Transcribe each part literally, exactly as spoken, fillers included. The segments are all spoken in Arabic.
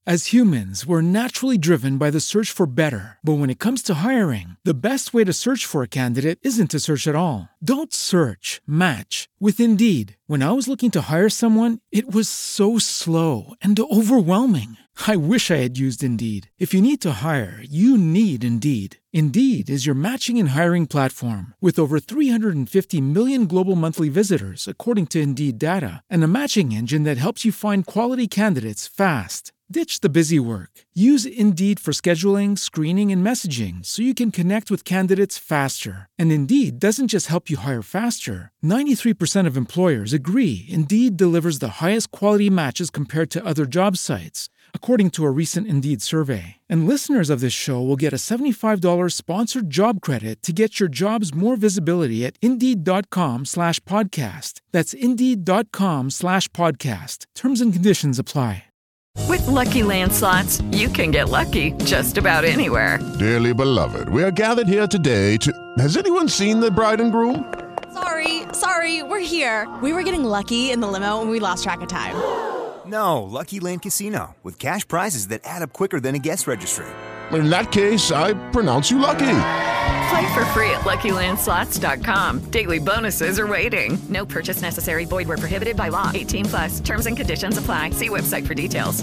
As humans, we're naturally driven by the search for better. But when it comes to hiring, the best way to search for a candidate isn't to search at all. Don't search, match with Indeed. When I was looking to hire someone, it was so slow and overwhelming. I wish I had used Indeed. If you need to hire, you need Indeed. Indeed is your matching and hiring platform with over three hundred fifty million global monthly visitors, according to Indeed data, and a matching engine that helps you find quality candidates fast. Ditch the busy work. Use Indeed for scheduling, screening, and messaging so you can connect with candidates faster. And Indeed doesn't just help you hire faster. ninety-three percent of employers agree Indeed delivers the highest quality matches compared to other job sites, according to a recent Indeed survey. And listeners of this show will get a seventy-five dollars sponsored job credit to get your jobs more visibility at Indeed.com slash podcast. That's Indeed.com slash podcast. Terms and conditions apply. With Lucky Land Slots, you can get lucky just about anywhere. Dearly beloved, we are gathered here today to... Has anyone seen the bride and groom? Sorry, sorry, we're here. We were getting lucky in the limo and we lost track of time. No, Lucky Land Casino, with cash prizes that add up quicker than a guest registry. In that case, I pronounce you lucky. Play for free at Lucky Land Slots dot com. Daily bonuses are waiting. No purchase necessary. Void where prohibited by law. eighteen plus. Terms and conditions apply. See website for details.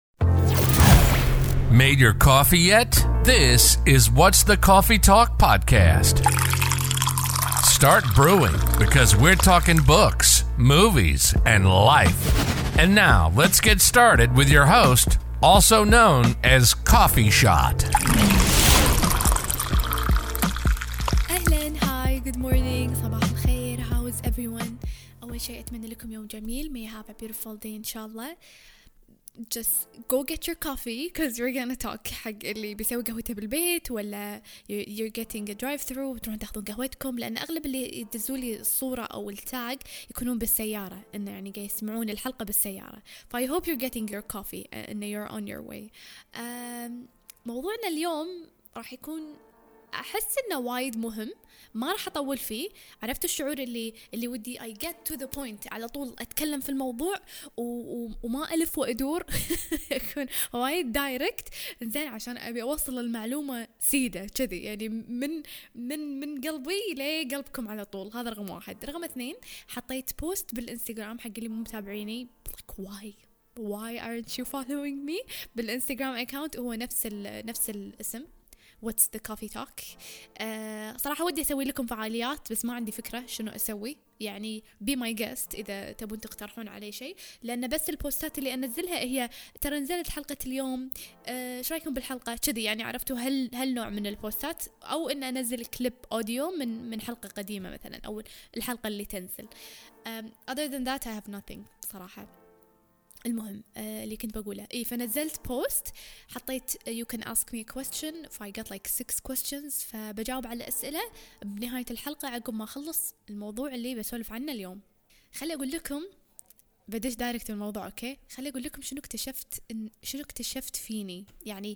Made your coffee yet? This is What's the Coffee Talk podcast. Start brewing because we're talking books, movies, and life. And now, let's get started with your host, also known as Coffee Shot. أهلاً, hi, good morning, صباح الخير, how is everyone? أول شيء أتمنى لكم يوم جميل, may you have a beautiful day إن شاء الله. Just go get your coffee because we're gonna talk. حق اللي بيسوي قهوته بالبيت ولا you're getting a drive through وتروحون تاخذون قهوتكم, لأن أغلب اللي يدزوا لي الصورة أو التاج يكونون بالسيارة, إنه يعني قاعد يسمعون الحلقة بالسيارة. ف I hope you're getting your coffee and you're on your way. um, موضوعنا اليوم راح يكون أحس إنه وايد مهم, ما راح أطول فيه. عرفت الشعور اللي اللي ودي I get to the point, على طول أتكلم في الموضوع و... و... وما ألف وأدور يكون وايد دايركت, زين, عشان أبي أوصل المعلومة سيدة كذي, يعني من من من قلبي لقلبكم على طول. هذا رقم واحد. رقم اثنين, حطيت بوست بالإنستغرام حق اللي مو متابعيني, like why why aren't you following me بالإنستغرام account, هو نفس ال... نفس الاسم What's the Coffee Talk. uh, صراحة ودي أسوي لكم فعاليات بس ما عندي فكرة شنو أسوي, يعني be my guest إذا تبون تقترحون علي شيء, لأن بس البوستات اللي أنزلها هي ترى نزلت حلقة اليوم, ايش uh, رايكم بالحلقة كذي, يعني عرفتوا هل هل نوع من البوستات, أو إن أنزل كليب أوديو من من حلقة قديمة مثلا, أو الحلقة اللي تنزل. um, other than that I have nothing صراحة. المهم آه اللي كنت بقوله إيه, فنزلت بوست حطيت you can ask me a question, ف I got like six questions, فبجاوب على أسئلة بنهاية الحلقة عقب ما أخلص الموضوع اللي بسولف عنه اليوم. خلي أقول لكم, بديش دايركت الموضوع, أوكي, خلي أقول لكم شنو اكتشفت إن شنو اكتشفت فيني. يعني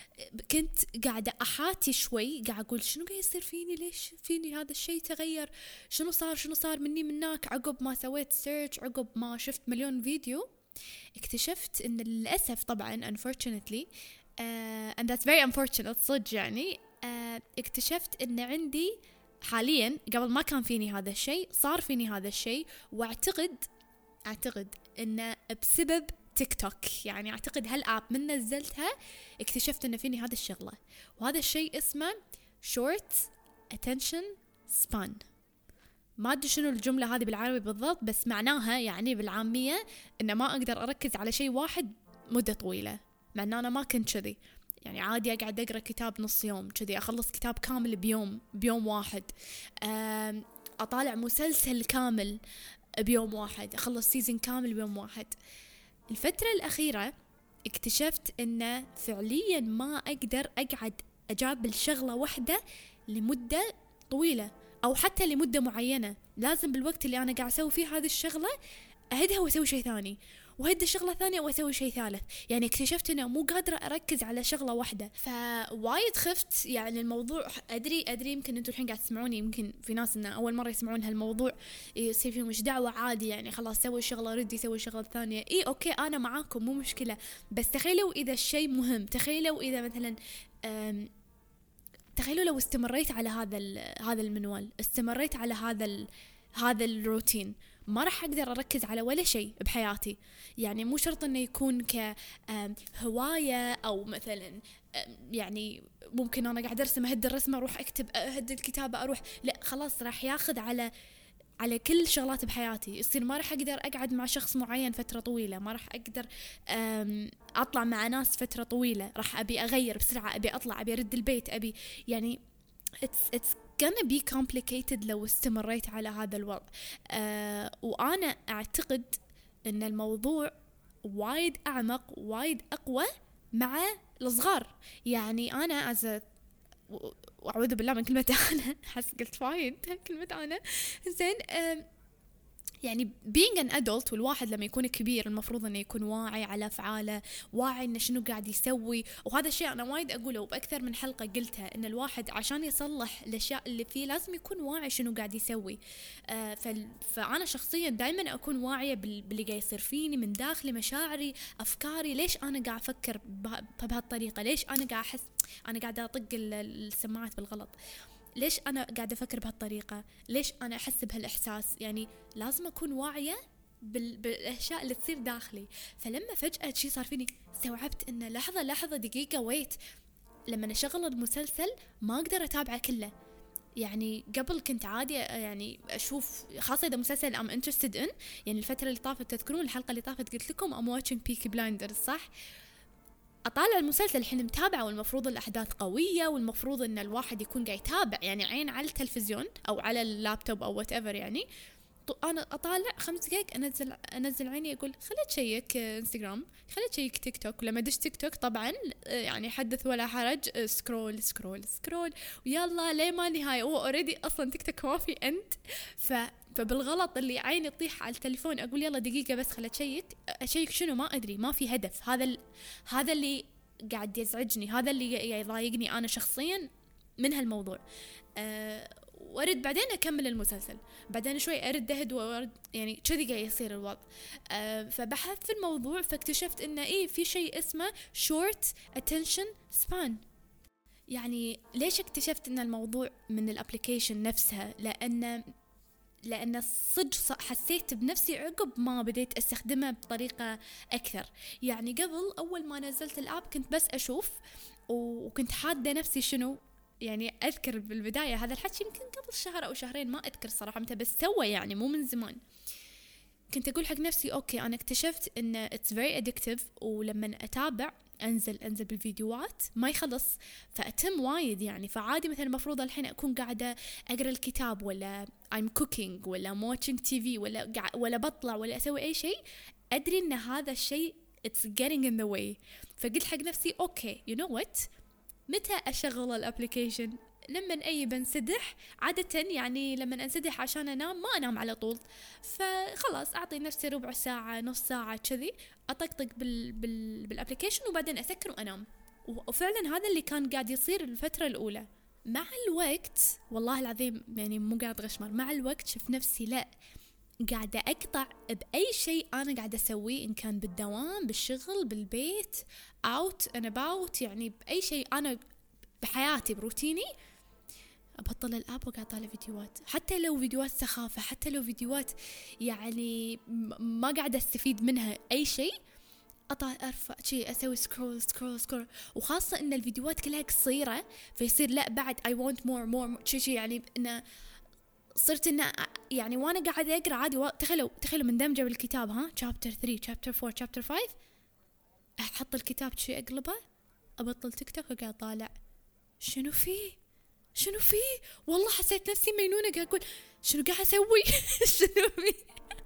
كنت قاعدة أحاتي شوي, قاعد أقول شنو قاعد يصير فيني, ليش فيني هذا الشيء تغير, شنو صار شنو صار مني منك, عقب ما سويت سيرش, عقب ما شفت مليون فيديو, اكتشفت ان للأسف طبعا unfortunately uh, and that's very unfortunate صدق, يعني uh, اكتشفت ان عندي حاليا, قبل ما كان فيني هذا الشيء, صار فيني هذا الشيء, واعتقد اعتقد ان بسبب تيك توك. يعني اعتقد هالآب من نزلتها اكتشفت ان فيني هذا الشغلة, وهذا الشيء اسمه short attention span. ما أدري شنو الجملة هذه بالعربي بالضبط, بس معناها يعني بالعامية إن ما أقدر أركز على شيء واحد مدة طويلة. مع أن أنا ما كنت كذي, يعني عادي أقعد أقرأ كتاب نص يوم كذي, أخلص كتاب كامل بيوم بيوم واحد, أطالع مسلسل كامل بيوم واحد, أخلص سيزن كامل بيوم واحد. الفترة الأخيرة اكتشفت إن فعليا ما أقدر أقعد أجاب الشغلة واحدة لمدة طويلة, أو حتى لمدة معينة. لازم بالوقت اللي أنا قاعد أسوي فيه هذه الشغلة أهدها وأسوي شيء ثاني, وهدي شغلة ثانية وأسوي شيء ثالث. يعني اكتشفت أنه مو قادرة أركز على شغلة واحدة، فوايد خفت. يعني الموضوع أدري أدري يمكن أنتوا الحين قاعد تسمعوني، يمكن في ناس إنه أول مرة يسمعون هالموضوع يصير فيهم مش دعوة، عادي يعني خلاص سوي شغلة ردي سوي شغلة ثانية. إيه أوكي أنا معاكم مو مشكلة، بس تخيلوا إذا الشيء مهم، تخيلوا إذا مثلا تخيلوا لو استمريت على هذا هذا المنوال، استمريت على هذا هذا الروتين، ما راح أقدر أركز على ولا شيء بحياتي. يعني مو شرط إنه يكون كهواية أو مثلا يعني ممكن أنا قاعد أرسم أهد الرسمة أروح أكتب أهد الكتابة أروح، لا خلاص راح ياخذ على على كل شغلات بحياتي. يصير ما راح أقدر أقعد مع شخص معين فترة طويلة، ما راح أقدر أطلع مع ناس فترة طويلة، راح أبي أغير بسرعة، أبي أطلع، أبي أرد البيت، أبي يعني it's it's gonna be complicated لو استمريت على هذا الوضع. أه وأنا أعتقد أن الموضوع وايد أعمق وايد أقوى مع الصغار. يعني أنا أز وأعوذ بالله من كلمة أنا، حس قلت وايد كلمة أنا زين. يعني being an adult، والواحد لما يكون كبير المفروض أنه يكون واعي على أفعاله، واعي إنه شنو قاعد يسوي. وهذا الشيء أنا وايد أقوله وبأكثر من حلقة قلتها، إن الواحد عشان يصلح الأشياء اللي فيه لازم يكون واعي شنو قاعد يسوي. آه فأنا شخصيا دائما أكون واعية باللي قاعد يصير فيني من داخلي، مشاعري، أفكاري، ليش أنا قاعد أفكر بهالطريقة، ليش أنا قاعد أحس أنا قاعد أطق السماعات بالغلط، ليش أنا قاعدة أفكر بهالطريقة، ليش أنا أحس بهالإحساس. يعني لازم أكون واعية بالأشياء اللي تصير داخلي. فلما فجأة شي صار فيني استوعبت إنه لحظة لحظة دقيقة ويت، لما أشغل المسلسل ما أقدر أتابعه كله. يعني قبل كنت عادي يعني أشوف، خاصة إذا مسلسل I'm interested in. يعني الفترة اللي طافت تذكرون الحلقة اللي طافت قلت لكم I'm watching Peaky Blinders صح؟ أطالع المسلسل الحين متابعة، والمفروض الأحداث قوية، والمفروض إن الواحد يكون قاعد يتابع يعني عين على التلفزيون أو على اللابتوب أو whatever. يعني أنا أطالع خمس دقايق أنزل أنزل عيني أقول خليت شيك إنستغرام، خليت شيك تيك توك. ولما دش تيك توك طبعا يعني حدث ولا حرج، سكرول سكرول سكرول ويلا ليه ما نهاية. هو أوريدي أصلا تيك توك ما في أنت. ف فبالغلط اللي عيني تطيح على التليفون أقول يلا دقيقة بس خلت شيك أشيك شنو ما أدري، ما في هدف. هذا ال... هذا اللي قاعد يزعجني، هذا اللي يضايقني أنا شخصيا من هالموضوع. أه... وأرد بعدين أكمل المسلسل، بعدين شوي أرد أهد وأرد، يعني كذي قاعد يصير الوضع. أه... فبحثت في الموضوع فاكتشفت إنه إيه في شيء اسمه short attention span. يعني ليش اكتشفت إن الموضوع من الابليكيشن نفسها؟ لأن لأن صدق حسيت بنفسي عقب ما بديت أستخدمه بطريقة أكثر. يعني قبل أول ما نزلت الآب كنت بس أشوف وكنت حادة نفسي شنو. يعني أذكر بالبداية هذا الحكي يمكن قبل شهر أو شهرين ما أذكر صراحة متى، بس سوى يعني مو من زمان. كنت أقول حق نفسي أوكي أنا اكتشفت إن it's very addictive، ولما أتابع أنزل أنزل بالفيديوهات ما يخلص فأتم وايد. يعني فعادي مثلا المفروض الحين أكون قاعدة أقرأ الكتاب ولا I'm cooking ولا I'm watching تي في ولا ولا بطلع ولا أسوي أي شيء، أدري إن هذا الشيء it's getting in the way. فقلت حق نفسي أوكي you know what، متى أشغل الابليكيشن؟ لما أي بنسدح عادة. يعني لما أنسدح عشان أنام ما أنام على طول، فخلاص أعطي نفسي ربع ساعة نص ساعة كذي أطقطق بال بال بالابليكيشن وبعدين أسكر وأنام. وفعلا هذا اللي كان قاعد يصير الفترة الأولى. مع الوقت والله العظيم يعني مو قاعد غشمر، مع الوقت شفت نفسي لا قاعدة أقطع بأي شيء أنا قاعدة أسويه، إن كان بالدوام بالشغل بالبيت out and about، يعني بأي شيء أنا بحياتي بروتيني أبطل الآب وقاعد أطالع فيديوهات، حتى لو فيديوهات سخافة، حتى لو فيديوهات يعني ما قاعدة أستفيد منها أي شيء، أطلع أرفع شيء أسوي سكرول سكرول سكرول. وخاصة إن الفيديوهات كلها قصيرة فيصير لا بعد I want more more شيء شيء يعني إنه صرت إنه يعني وأنا قاعدة أقرأ عادي. تخيلوا تخيلوا مندمجة بالكتاب ها chapter three chapter four chapter five أحط الكتاب شيء أقلبه أبطل تيك توك وقاعد طالع شنو فيه شنو فيه. والله حسيت نفسي مينونة قاعد أقول شنو قاعد أسوي شنو فيه.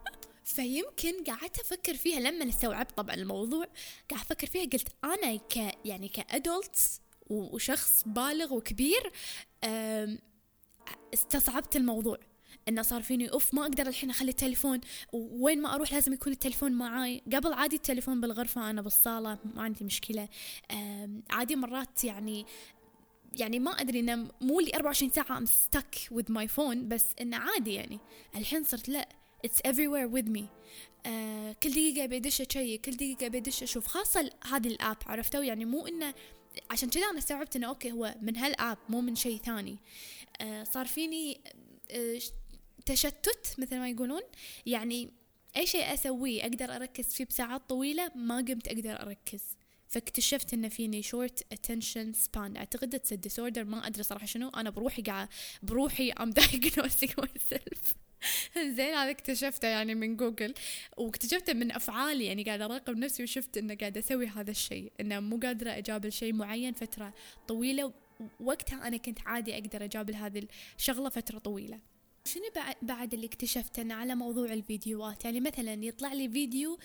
فيمكن قاعدة أفكر فيها لما استوعبت طبعا الموضوع، قاعد أفكر فيها قلت أنا ك يعني كأدولت وشخص بالغ وكبير استصعبت الموضوع. إنه صار فيني أوف ما أقدر الحين أخلي التليفون، وين ما أروح لازم يكون التليفون معاي. قبل عادي التليفون بالغرفة، أنا بالصالة ما عندي مشكلة. عادي مرات يعني يعني ما أدري إنه مو لي أربعة وعشرين ساعة I'm stuck with my phone، بس إنه عادي يعني الحين صرت لا it's everywhere with me. آه كل دقيقة بيدش شيء، كل دقيقة بيدش أشوف، خاصة هذه الآب عرفتوا يعني. مو إنه عشان كذا أنا استوعبت إنه أوكي هو من هالآب مو من شيء ثاني. آه صار فيني آه تشتت مثل ما يقولون، يعني أي شيء أسويه أقدر أركز فيه بساعات طويلة ما قمت أقدر أركز. فاكتشفت إن فيني short attention span، أعتقد it's a disorder، ما أدري صراحة شنو. أنا بروحي قاعد بروحي I'm diagnosing myself. زين هذا اكتشفته يعني من جوجل، واكتشفته من أفعالي، يعني قاعدة أراقب نفسي وشفت إنه قاعدة أسوي هذا الشيء، إنه مو قادرة أجابل شيء معين فترة طويلة. وقتها أنا كنت عادي أقدر أجابل هذه الشغلة فترة طويلة. شنو بعد اللي اكتشفته إنه على موضوع الفيديوهات، يعني مثلا يطلع لي فيديو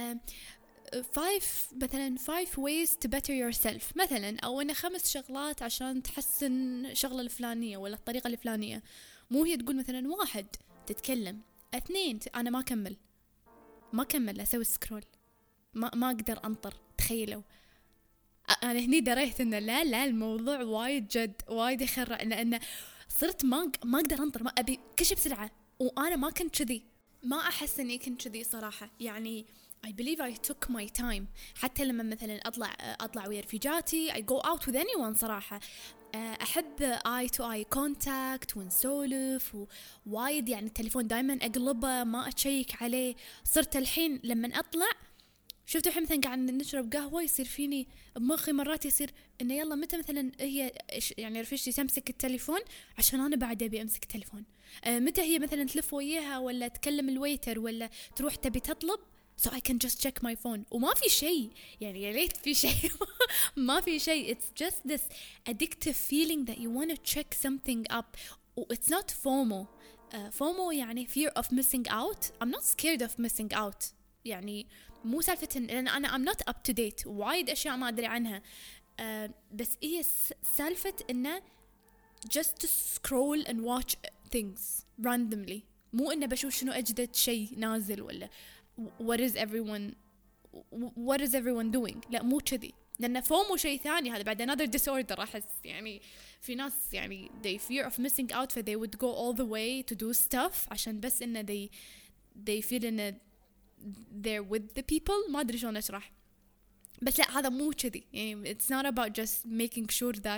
five مثلا five ways to better yourself مثلا، أو إنه خمس شغلات عشان تحسن شغلة الفلانية ولا الطريقة الفلانية. مو هي تقول مثلا واحد تتكلم، اثنين أنا ما أكمل ما أكمل أسوي سكرول، ما ما أقدر أنطر. تخيلوا أنا هني دريت إنه لا لا الموضوع وايد جد وايد يخرع، لأنه صرت ما ما أقدر أنطر، ما أبي كل شيء بسرعة. وأنا ما كنت كذي، ما أحس إني كنت كذي صراحة. يعني I believe I took my time. حتى لما مثلا أطلع أطلع ويا رفيجاتي I go out with anyone صراحة، أحب eye to eye contact ونسولف ووايد. يعني التليفون دايما أقلبه ما أتشيك عليه. صرت الحين لما أطلع شفتوا الحين مثلا قاعد نشرب قهوة يصير فيني بمخي مرات يصير إنه يلا متى مثلا هي يعني رفيجتي تمسك التليفون عشان أنا بعد أبي أمسك التليفون، أه متى هي مثلا تلف وياها ولا تكلم الويتر ولا تروح تبي تطلب so I can just check my phone. وما في شيء يعني يا ليت في شيء ما في شيء. It's just this addictive feeling that you want to check something up. It's not FOMO. uh, FOMO يعني fear of missing out. I'm not scared of missing out. يعني مو سالفة لأن أنا I'm not up to date، وايد أشياء ما أدري عنها. uh, بس هي سالفة إنه just to scroll and watch things randomly. مو إنه بشوف شنو أجدد شيء نازل ولا what is everyone what is everyone doing. لا مو كذي، لأن فومو شيء ثاني. هذا بعد another disorder أحس. يعني في ناس يعني they fear of missing out ف they would go all the way to do stuff عشان بس إنه they they feel إنه they're with the people. ما أدري شلون أشرح، بس لا هذا مو كذي. يعني it's not about just making sure that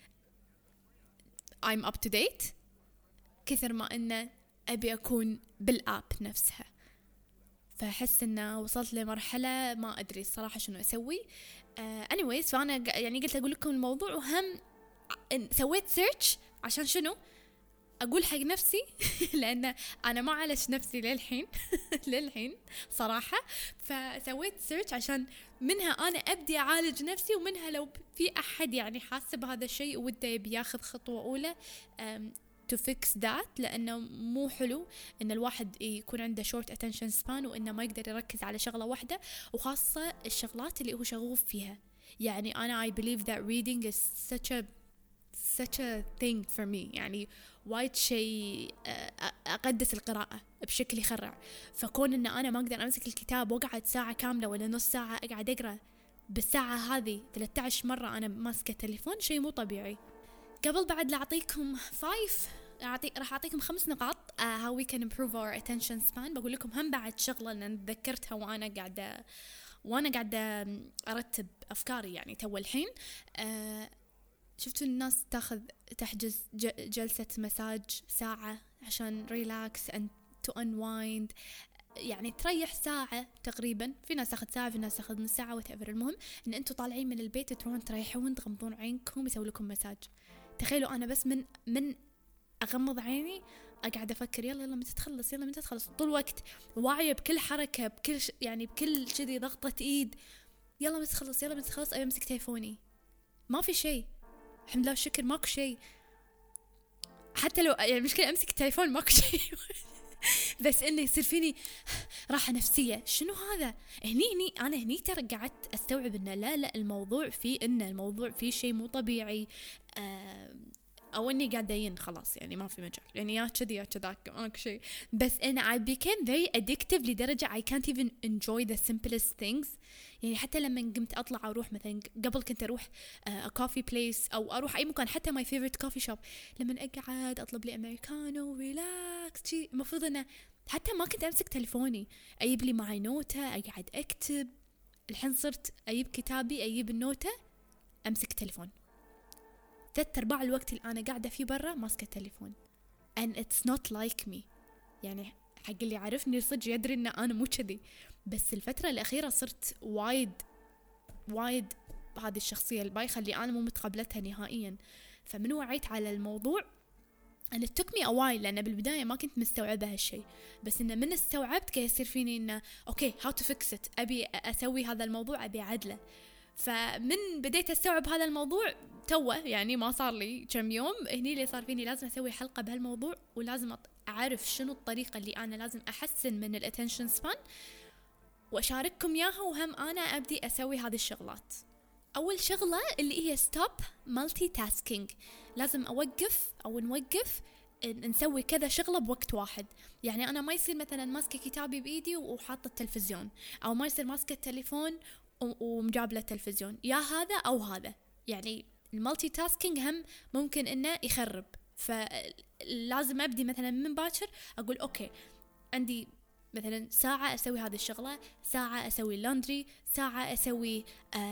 I'm up to date كثر ما إنه أبي أكون بالآب نفسها. فأحس إنه وصلت لمرحلة ما أدري الصراحة شنو أسوي. uh, anyways فأنا يعني قلت أقول لكم الموضوع، وهم سويت سيرش عشان شنو أقول حق نفسي لأن أنا ما عالج نفسي للحين للحين صراحة. فسويت سيرش عشان منها أنا أبدي أعالج نفسي، ومنها لو في أحد يعني حاسة بهذا الشيء وده يبي ياخذ خطوة أولى um, to fix that. لأنه مو حلو إن الواحد يكون عنده short attention span وإنه ما يقدر يركز على شغلة واحدة، وخاصة الشغلات اللي هو شغوف فيها. يعني أنا I believe that reading is such a such a thing for me. يعني وايد شيء أقدس القراءة بشكل يخرع. فكون إن أنا ما أقدر أمسك الكتاب وأقعد ساعة كاملة ولا نص ساعة أقعد أقرأ، بالساعة هذه ثلاثة عشر مرة أنا ماسكة تليفون، شيء مو طبيعي. قبل بعد لأعطيكم five أعطي راح أعطيكم خمس نقاط uh, how we can improve our attention span. بقول لكم هم بعد شغلة أنا تذكرتها وأنا قاعدة وأنا قاعدة أرتب أفكاري يعني تو الحين. uh, شفتوا الناس تاخذ تحجز جلسة مساج ساعة عشان relax and to unwind، يعني تريح ساعة تقريبا. في ناس تاخذ ساعة، في ناس تاخذ نص ساعة whatever. المهم إن أنتوا طالعين من البيت تروحون تريحون تغمضون عينكم يسوي لكم مساج. تخيلوا أنا بس من من أغمض عيني أقعد أفكر يلا يلا متى تخلص يلا متى تخلص، طول الوقت واعية بكل حركة بكل ش... يعني بكل شذي ضغطة إيد، يلا متى تخلص يلا متى تخلص. أبي أمسك تليفوني ما في شيء، الحمد لله والشكر ماكو شيء. حتى لو يعني مشكلة أمسك التليفون ماكو شيء بس إنه يصير فيني راحة نفسية. شنو هذا؟ هني هني أنا هني ترى قعدت أستوعب إنه لا لا الموضوع فيه إنه الموضوع فيه شيء مو طبيعي. آه أو إني قاعدين خلاص يعني ما في مجال يعني يا كذي يا كذاك ماك شيء. بس أنا I became very addictive لدرجة I can't even enjoy the simplest things. يعني حتى لما قمت أطلع أروح مثلا قبل كنت أروح كوفي بليس أو أروح أي مكان حتى my favorite coffee shop لما أقعد أطلب لي أمريكانو ريلاكس شيء المفروض أنا حتى ما كنت أمسك تليفوني أجيب لي معي نوتة أقعد أكتب. الحين صرت أجيب كتابي أجيب النوتة أمسك تليفون. ثلاث أرباع الوقت اللي أنا قاعدة فيه برا ماسكة التليفون and it's not like me. يعني حق اللي عارفني صدق يدري إن أنا مو كذي. بس الفترة الأخيرة صرت وايد وايد هذه الشخصية البايخة اللي أنا مو متقبلتها نهائيا. فمن وعيت على الموضوع أنا it took me a while لأن بالبداية ما كنت مستوعبة هالشيء. بس إن من استوعبت كي يصير فيني إنه أوكي how to fix it أبي أسوي هذا الموضوع أبي عدله. فمن بديت أستوعب هذا الموضوع توه يعني ما صار لي كم يوم هني اللي صار فيني لازم أسوي حلقة بهالموضوع ولازم أعرف شنو الطريقة اللي أنا لازم أحسن من الاتنشن سبان وأشارككم إياها وهم أنا أبدي أسوي هذه الشغلات. أول شغلة اللي هي stop multitasking. لازم أوقف أو نوقف نسوي كذا شغلة بوقت واحد. يعني أنا ما يصير مثلا ماسكة كتابي بإيدي وحاطة التلفزيون أو ما يصير ماسكة التليفون ومجابلة التلفزيون يا هذا أو هذا. يعني المالتي تاسكينج هم ممكن إنه يخرب. فلازم أبدي مثلا من باكر أقول أوكي عندي مثلا ساعة أسوي هذه الشغلة ساعة أسوي اللندري ساعة أسوي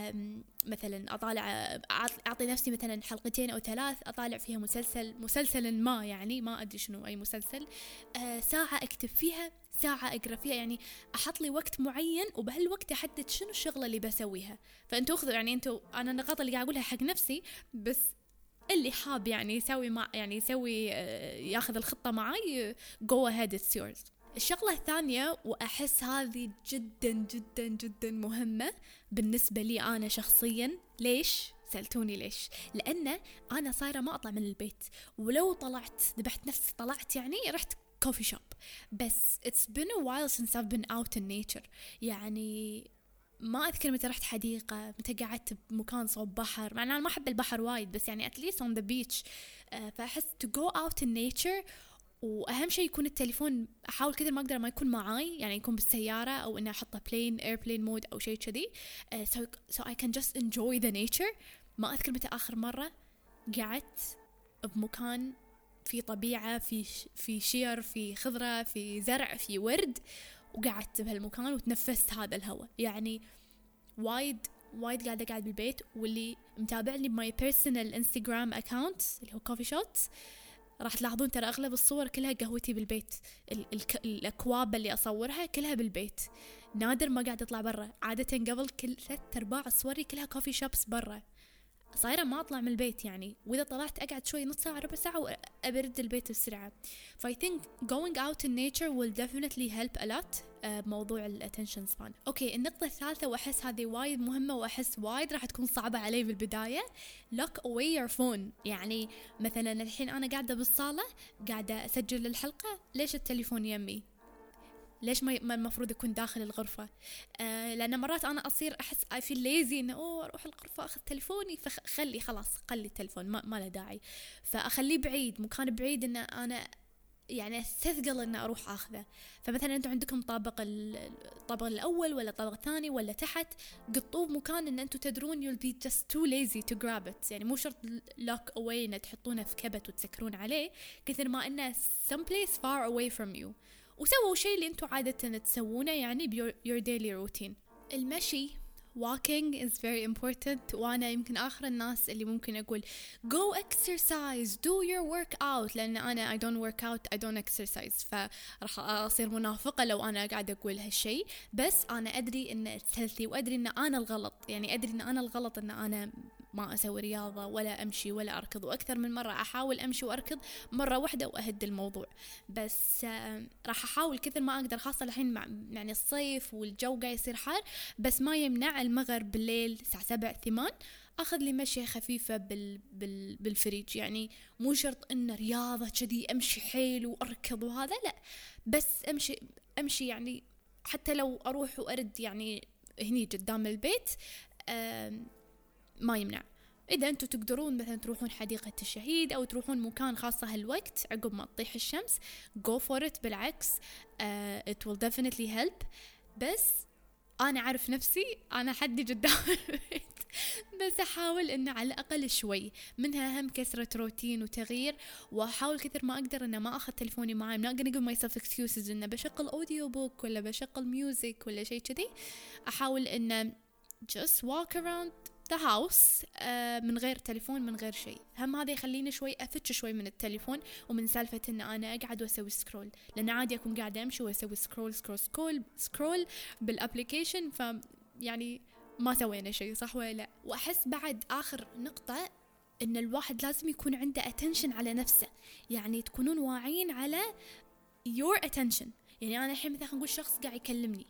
مثلا أطالع أعطي نفسي مثلا حلقتين أو ثلاث أطالع فيها مسلسل مسلسل ما يعني ما أدري شنو أي مسلسل ساعة أكتب فيها ساعة أقرأ فيها. يعني أحط لي وقت معين وبهالوقت أحدد شنو الشغلة اللي بسويها. فأنتوا أخذوا يعني أنتوا أنا النقاط اللي قاعد أقولها حق نفسي بس اللي حاب يعني يسوي مع يعني يسوي ياخذ الخطة معي go ahead it's yours. الشغلة الثانية وأحس هذه جدا جدا جدا مهمة بالنسبة لي أنا شخصيا. ليش؟ سألتوني ليش؟ لأن أنا صايرة ما أطلع من البيت ولو طلعت ذبحت نفسي طلعت يعني رحت كوفي شوب بس it's been a while since I've been out in nature. يعني ما أذكر متى رحت حديقة متى قعدت بمكان صوب بحر مع أن أنا ما أحب البحر وايد بس يعني at least on the beach. فأحس to go out in nature وأهم شيء يكون التليفون أحاول كثير ما أقدر ما يكون معاي يعني يكون بالسيارة أو إني أحطه plane airplane mode أو شيء كذي uh, so, so I can just enjoy the nature. ما أذكر متى آخر مرة قعدت بمكان في طبيعة في في شجر في خضرة في زرع في ورد وقعدت بهالمكان وتنفست هذا الهواء. يعني وايد وايد قاعدة قاعد بالبيت. واللي متابعني بماي personal Instagram account اللي هو coffee shots راح تلاحظون ترى أغلب الصور كلها قهوتي بالبيت. ال- ال- الأكواب اللي أصورها كلها بالبيت. نادر ما قاعد أطلع برا. عادة قبل كل ثلاث أرباع صوري كلها كوفي شوبس برا. صايرة ما أطلع من البيت يعني وإذا طلعت أقعد شوي نص ساعة ربع ساعة وأبرد البيت بسرعة. ف I think going out in nature will definitely help a lot بموضوع الاتنشن سبان. أوكي النقطة الثالثة وأحس هذه وايد مهمة وأحس وايد راح تكون صعبة علي بالبداية lock away your phone. يعني مثلا الحين أنا قاعدة بالصالة قاعدة أسجل الحلقة ليش التليفون يمي؟ ليش ما المفروض يكون داخل الغرفة؟ آه لأن مرات أنا أصير أحس I feel lazy إنه أوه أروح الغرفة أخذ تليفوني فخلي خلاص خلي التليفون ما, ما له داعي فأخليه بعيد مكان بعيد إنه أنا يعني أستثقل إنه أروح أخذه. فمثلا أنتم عندكم طابق الطابق الأول ولا الطابق الثاني ولا تحت قطوه مكان إن أنتم تدرون you'll be just too lazy to grab it. يعني مو شرط lock away إنه تحطونه في كبت وتسكرون عليه كثر ما إنه someplace far away from you. وسووا شيء اللي انتوا عادة تسوونه يعني ب your daily routine. المشي walking is very important وأنا يمكن آخر الناس اللي ممكن أقول go exercise do your workout لأن أنا I don't work out I don't exercise فرح أصير منافقة لو أنا قاعدة أقول هالشيء. بس أنا أدري إن healthy وأدري إن أنا الغلط يعني أدري إن أنا الغلط إن أنا ما أسوي رياضة ولا أمشي ولا أركض. وأكثر من مرة أحاول أمشي وأركض مرة واحدة وأهد الموضوع. بس راح أحاول كثر ما أقدر خاصة الحين مع يعني الصيف والجو قاعد يصير حار بس ما يمنع المغرب بالليل الساعة سبع ثمان أخذ لي مشي خفيفة بال بال بالفريج. يعني مو شرط إن رياضة كذي أمشي حيل وأركض وهذا لا بس أمشي أمشي يعني حتى لو أروح وأرد يعني هني قدام البيت ما يمنع. إذا أنتوا تقدرون مثلا تروحون حديقة الشهيد أو تروحون مكان خاصة هالوقت عقب ما تطيح الشمس go for it. بالعكس uh, it will definitely help. بس أنا أعرف نفسي أنا حدي قدام البيت بس أحاول إنه على الأقل شوي منها هم كسرة روتين وتغيير، وأحاول كثر ما أقدر إنه ما أخذ تلفوني معي. not gonna give myself excuses إنه بشغل أوديو بوك ولا بشغل ميوزك ولا شيء كذي. أحاول إنه just walk around the house uh, من غير تليفون من غير شيء. هم هذا يخليني شوي أفتش شوي من التليفون ومن سالفة إن أنا أقعد وأسوي سكرول، لأن عادي أكون قاعدة أمشي وأسوي سكرول سكرول سكرول سكرول بالأبليكيشن، ف يعني ما سوينا شيء صح ولا لا. وأحس بعد آخر نقطة إن الواحد لازم يكون عنده attention على نفسه، يعني تكونون واعين على your attention. يعني أنا الحين مثلا نقول شخص قاعد يكلمني،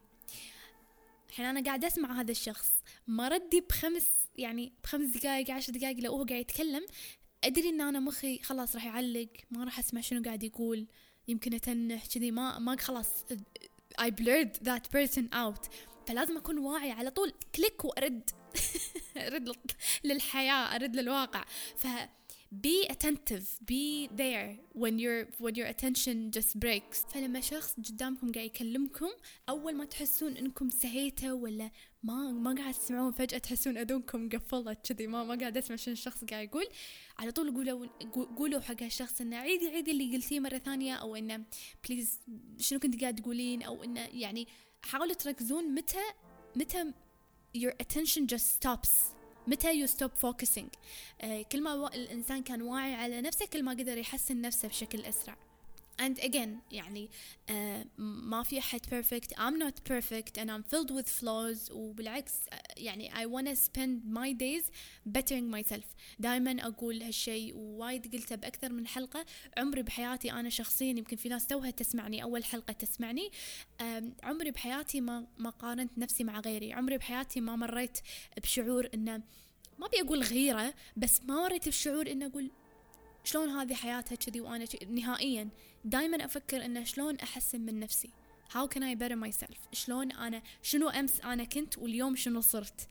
الحين أنا قاعد أسمع هذا الشخص، ما ردي بخمس يعني بخمس دقائق عشر دقائق لو هو قاعد يتكلم أدري إن أنا مخي خلاص راح يعلق، ما راح أسمع شنو قاعد يقول، يمكن أتنح كذي، ما ما خلاص I blurred that person out. فلازم أكون واعي على طول، كليك وأرد أرد للحياة، أرد للواقع. ف be attentive, be there when your when your attention just breaks. فلما شخص قدامكم قاعد يكلمكم أول ما تحسون إنكم سهيتوا ولا ما ما قاعد تسمعون، فجأة تحسون أذنكم قفلت كذي، ما ما قاعد أسمع شنو الشخص قاعد يقول، على طول قولوا قولوا حق الشخص إنه عيدي عيدي اللي قلتيه مرة ثانية، أو إنه بليز شنو كنت قاعد تقولين، أو إنه يعني حاولوا تركزون متى متى your attention just stops، متى you stop focusing. uh, كل ما الإنسان كان واعي على نفسه كل ما قدر يحسن نفسه بشكل أسرع. and again يعني uh, ما في أحد perfect, I'm not perfect and I'm filled with flaws. وبالعكس uh, يعني I wanna spend my days bettering myself. دائما أقول هالشيء ووايد قلته بأكثر من حلقة. عمري بحياتي أنا شخصيا، يمكن في ناس توها تسمعني أول حلقة تسمعني، um, عمري بحياتي ما ما قارنت نفسي مع غيري. عمري بحياتي ما مريت بشعور إنه ما بيقول غيرة، بس ما مريت بشعور إنه أقول شلون هذه حياتها كذي وأنا كذي. نهائيا دايما أفكر إنه شلون أحسن من نفسي، how can I better myself، شلون أنا شنو أمس أنا كنت واليوم شنو صرت،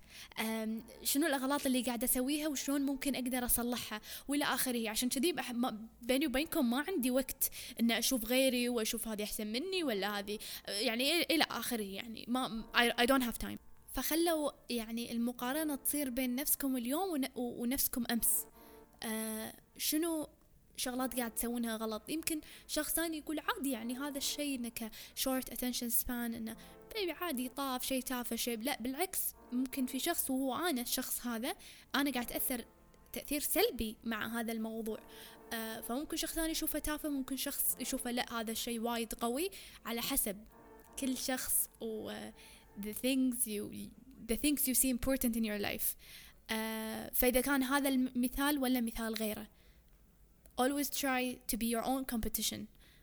شنو الأغلاط اللي قاعدة أسويها وشلون ممكن أقدر أصلحها وإلى آخره. عشان كذي بيني وبينكم ما عندي وقت إن أشوف غيري وأشوف هذه أحسن مني ولا هذه يعني إلى آخره، يعني ما I, I don't have time. فخلوا يعني المقارنة تصير بين نفسكم اليوم ونفسكم أمس. آه شنو شغلات قاعد تسوونها غلط. يمكن شخص ثاني يقول عادي يعني هذا الشيء إنك short attention span، إنه عادي طاف شيء تافه شيء. لا بالعكس، ممكن في شخص وهو أنا الشخص هذا أنا قاعد أثر تأثير سلبي مع هذا الموضوع. آه فممكن شخص ثاني يشوفه تافه، ممكن شخص يشوفه لا هذا الشيء وايد قوي، على حسب كل شخص و the things you the things you see important in your life. uh, فإذا كان هذا المثال ولا مثال غيره، always try to be your own competition.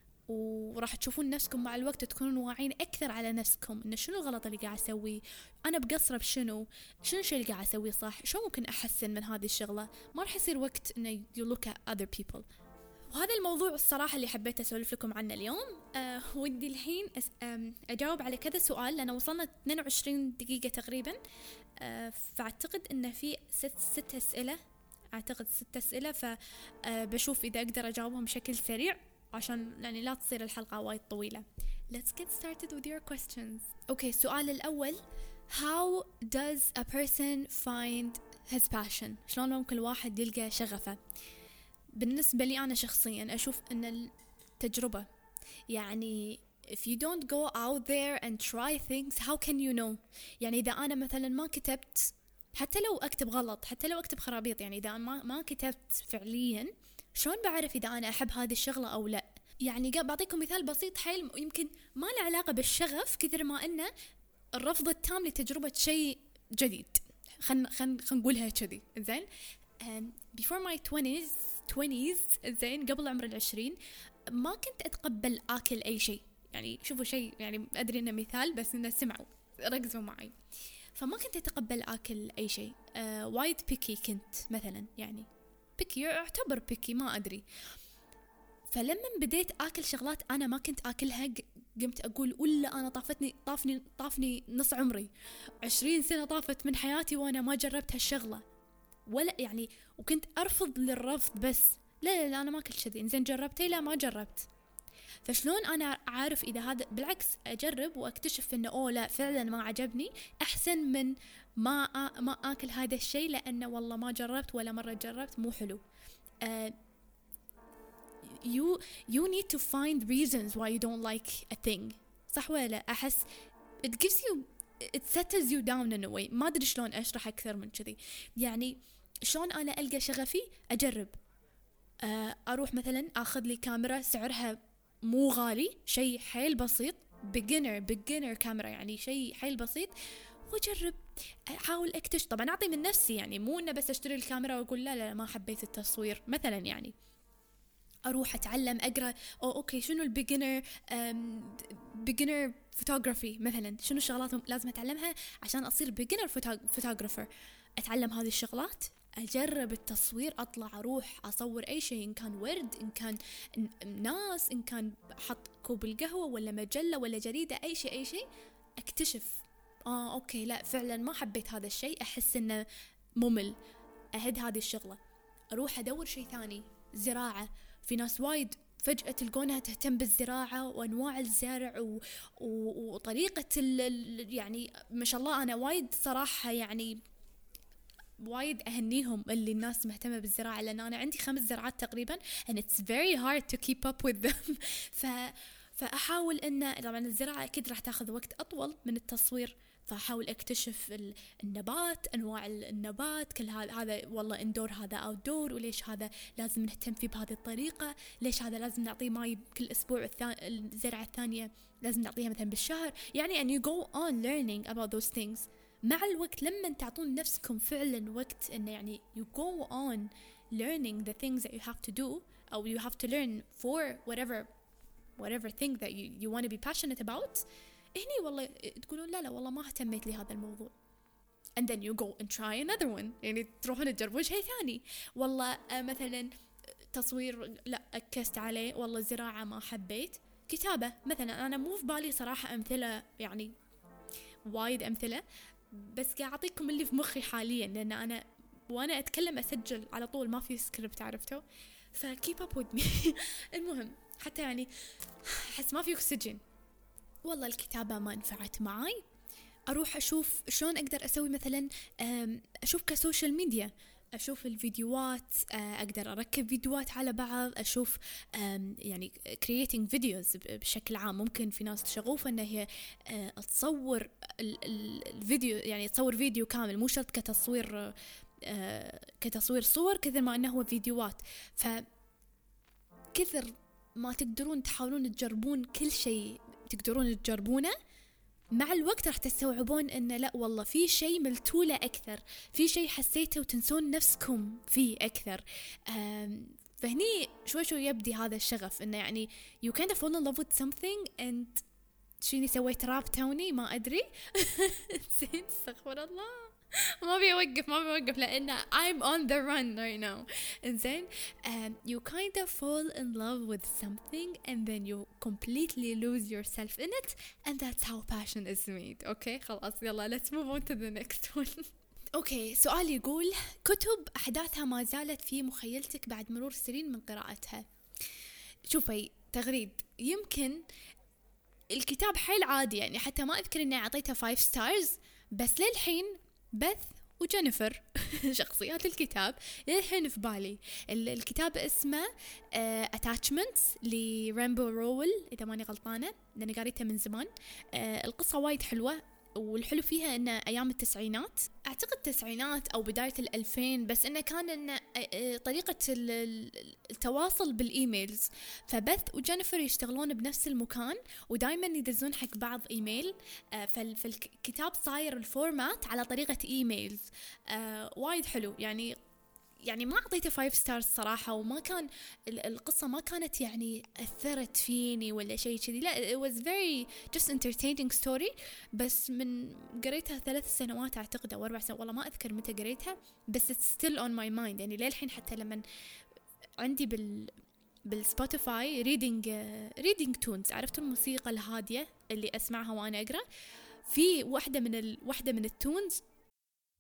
وراح تشوفون نفسكم مع الوقت تكونون واعين أكثر على نفسكم، إن شنو الغلط اللي قاعد أسويه، أنا بقصر بشنو، شنو الشيء اللي قاعد أسويه صح، شو ممكن أحسن من هذه الشغلة. ما راح يصير وقت إنه you look at other people. وهذا الموضوع الصراحة اللي حبيت أسولف لكم عنه اليوم. أه ودي الحين أجاوب على كذا سؤال، لأن وصلنا اثنين وعشرين دقيقة تقريبا. أه فأعتقد أن في ست, ست أسئلة أعتقد ست أسئلة فبشوف إذا أقدر أجاوبهم بشكل سريع عشان يعني لا تصير الحلقة وايد طويلة. Let's get started with your questions. أوكي، السؤال الأول: How does a person find his passion؟ شلون ممكن الواحد يلقى شغفه؟ بالنسبة لي أنا شخصيا أشوف أن التجربة، يعني if you don't go out there and try things how can you know؟ يعني إذا أنا مثلا ما كتبت، حتى لو أكتب غلط، حتى لو أكتب خرابيط، يعني إذا ما ما كتبت فعليا شلون بعرف إذا أنا أحب هذه الشغلة أو لا؟ يعني بعطيكم مثال بسيط حيل، يمكن ما له علاقة بالشغف كثر ما إنه الرفض التام لتجربة شيء جديد. خن خن خن نقولها كذي زين. before my twenties twenties زين، قبل عمر العشرين ما كنت أتقبل آكل أي شيء. يعني شوفوا شيء، يعني أدري إنه مثال بس إنه سمعوا ركزوا معي. فما كنت أتقبل آكل أي شيء. آه وايد بيكي كنت مثلا، يعني بيكي أعتبر بيكي ما أدري. فلما بديت آكل شغلات أنا ما كنت آكلها قمت أقول ولا أنا طافتني طافني طافني نص عمري، عشرين سنة طافت من حياتي وأنا ما جربت هالشغلة. ولا يعني وكنت أرفض للرفض بس لا لا لا أنا ما كنت كذي. إنزين جربتي؟ لا ما جربت. فشلون أنا أعرف إذا هذا؟ بالعكس أجرب وأكتشف إنه أوه لا فعلا ما عجبني، أحسن من ما آ... ما آكل هذا الشيء لأنه والله ما جربت ولا مرة جربت مو حلو. uh, you you need to find reasons why you don't like a thing. صح ولا لا؟ أحس it gives you it settles you down in a way. ما أدري شلون أشرح أكثر من كذي. يعني شلون أنا ألقى شغفي؟ أجرب. uh, أروح مثلا أخذ لي كاميرا سعرها مو غالي، شيء حيل بسيط، beginner beginner كاميرا يعني شيء حيل بسيط، وأجرب أحاول أكتشف. طبعا أعطي من نفسي يعني مو إنه بس أشتري الكاميرا وأقول لا لا ما حبيت التصوير مثلا. يعني أروح أتعلم أقرأ أو أوكي شنو البيجنر beginner photography مثلا، شنو الشغلات لازم أتعلمها عشان أصير beginner photographer. أتعلم هذه الشغلات، أجرب التصوير، أطلع أروح أصور أي شيء، إن كان ورد، إن كان ناس، إن كان حط كوب القهوة ولا مجلة ولا جريدة، أي شيء أي شيء أكتشف آه أوكي لا فعلا ما حبيت هذا الشيء، أحس إنه ممل، أهد هذه الشغلة. أروح أدور شيء ثاني، زراعة. في ناس وايد فجأة تلقونها تهتم بالزراعة وأنواع الزرع و... و... وطريقة ال... يعني ما شاء الله. أنا وايد صراحة يعني وايد أهنيهم اللي الناس مهتمة بالزراعة، لأن أنا عندي خمس زراعات تقريبا and it's very hard to keep up with them. ف... فأحاول إن طبعا الزراعة أكيد راح تأخذ وقت أطول من التصوير، فأحاول أكتشف النبات، أنواع النبات، كل هذا هذا والله إندور هذا أوتدور، وليش هذا لازم نهتم فيه بهذه الطريقة، ليش هذا لازم نعطيه ماي كل أسبوع، الزرعة الثانية لازم نعطيها مثلا بالشهر. يعني and you go on learning about those things. مع الوقت لما تعطون نفسكم فعلا وقت إنه يعني you go on learning the things that you have to do أو you have to learn for whatever whatever thing that you you want to be passionate about. هني والله تقولون لا لا والله ما اهتميت لهذا الموضوع. and then you go and try another one. يعني تروحون تجربون شيء ثاني. والله آه مثلا تصوير لا أكست عليه، والله زراعة ما حبيت، كتابة مثلا. أنا مو في بالي صراحة أمثلة يعني وايد أمثلة، بس قاعد أعطيكم اللي في مخي حاليا، لأن أنا وأنا أتكلم أسجل على طول ما في سكريبت عرفتوا، فkeep up with me. المهم حتى يعني أحس ما في أكسجين. والله الكتابة ما نفعت معي، أروح أشوف شلون أقدر أسوي مثلا أشوف كسوشيال ميديا، أشوف الفيديوهات، أقدر أركب فيديوهات على بعض، أشوف يعني creating videos بشكل عام. ممكن في ناس شغوفة أنها هي تصور الفيديو، يعني تصور فيديو كامل، مو شرط كتصوير كتصوير صور كثر ما أنه هو فيديوهات. فكثر ما تقدرون تحاولون تجربون كل شيء تقدرون تجربونه، مع الوقت راح تستوعبون إن لا والله في شيء ملتولة أكثر، في شيء حسيته وتنسون نفسكم فيه أكثر. فهني شوي شوي يبدي هذا الشغف، إنه يعني you kind of fall in love with something and شيني سويت راب توني ما أدري. زين استغفر الله، ما بيوقف ما بيوقف لأن I'm on the run right now. إنزين um, you kind of fall in love with something and then you completely lose yourself in it, and that's how passion is made. okay خلاص يلا let's move on to the next one. اوكي سؤال يقول: كتب أحداثها ما زالت في مخيلتك بعد مرور سنين من قراءتها. شوفي تغريد، يمكن الكتاب حيل عادي يعني، حتى ما أذكر إني أعطيته five stars، بس للحين بث وجينيفر شخصيات الكتاب للحين في بالي. الكتاب اسمه uh, Attachments لرامبو روول إذا ماني غلطانة، لأني قريتها من زمان. uh, القصة وايد حلوة، والحلو فيها إنه أيام التسعينات، أعتقد التسعينات أو بداية الألفين، بس إنه كان إنه طريقة التواصل بالإيميلز. فبث وجينيفر يشتغلون بنفس المكان ودايما يدزون حق بعض إيميل، فالكتاب صاير الفورمات على طريقة إيميلز. وايد حلو يعني يعني ما أعطيته five stars صراحة، وما كان القصة ما كانت يعني أثرت فيني ولا شيء كذي، لا it was very just entertaining story. بس من قريتها ثلاث سنوات أعتقد أو أربع سنوات، والله ما أذكر متى قريتها، بس it's still on my mind يعني للحين. حتى لما عندي بال بالسبوتيفاي reading uh, reading tunes، عرفت الموسيقى الهادية اللي أسمعها وأنا أقرأ، في واحدة من ال... واحدة من التونز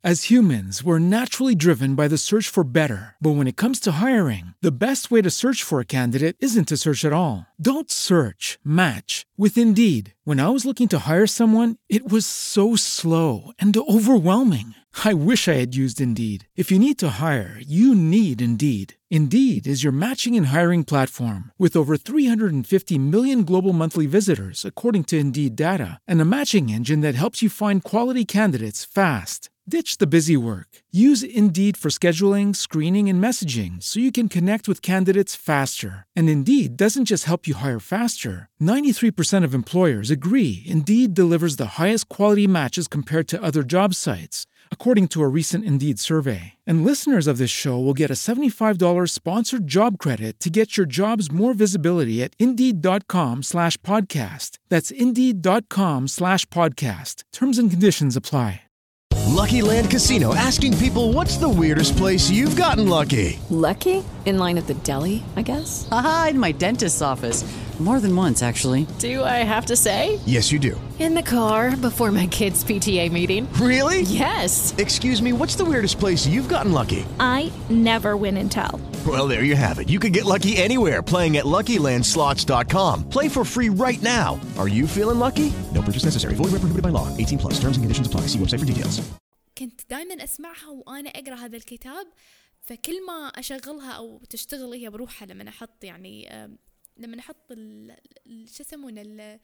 As humans, we're naturally driven by the search for better. But when it comes to hiring, the best way to search for a candidate isn't to search at all. Don't search, match with Indeed. When I was looking to hire someone, it was so slow and overwhelming. I wish I had used Indeed. If you need to hire, you need Indeed. Indeed is your matching and hiring platform with over three hundred fifty million global monthly visitors, according to Indeed data, and a matching engine that helps you find quality candidates fast. Ditch the busy work. Use Indeed for scheduling, screening, and messaging so you can connect with candidates faster. And Indeed doesn't just help you hire faster. ninety-three percent of employers agree Indeed delivers the highest quality matches compared to other job sites, according to a recent Indeed survey. And listeners of this show will get a seventy-five dollars sponsored job credit to get your jobs more visibility at Indeed.com slash podcast. That's Indeed.com slash podcast. Terms and conditions apply. Lucky Land Casino, asking people, what's the weirdest place you've gotten lucky? Lucky? In line at the deli, I guess? Aha, in my dentist's office. More than once, actually. Do I have to say? Yes, you do. In the car before my kids' P T A meeting. Really? Yes. Excuse me, what's the weirdest place you've gotten lucky? I never win and tell. Well, there you have it. You can get lucky anywhere, playing at Lucky Land Slots dot com. Play for free right now. Are you feeling lucky? No purchase necessary. Void where prohibited by law. eighteen plus. Terms and conditions apply. See website for details. كنت دايما أسمعها وأنا أقرأ هذا الكتاب، فكل ما أشغلها أو تشتغل هي بروحها لما أحط يعني لما أحط ال شو يسمونه ال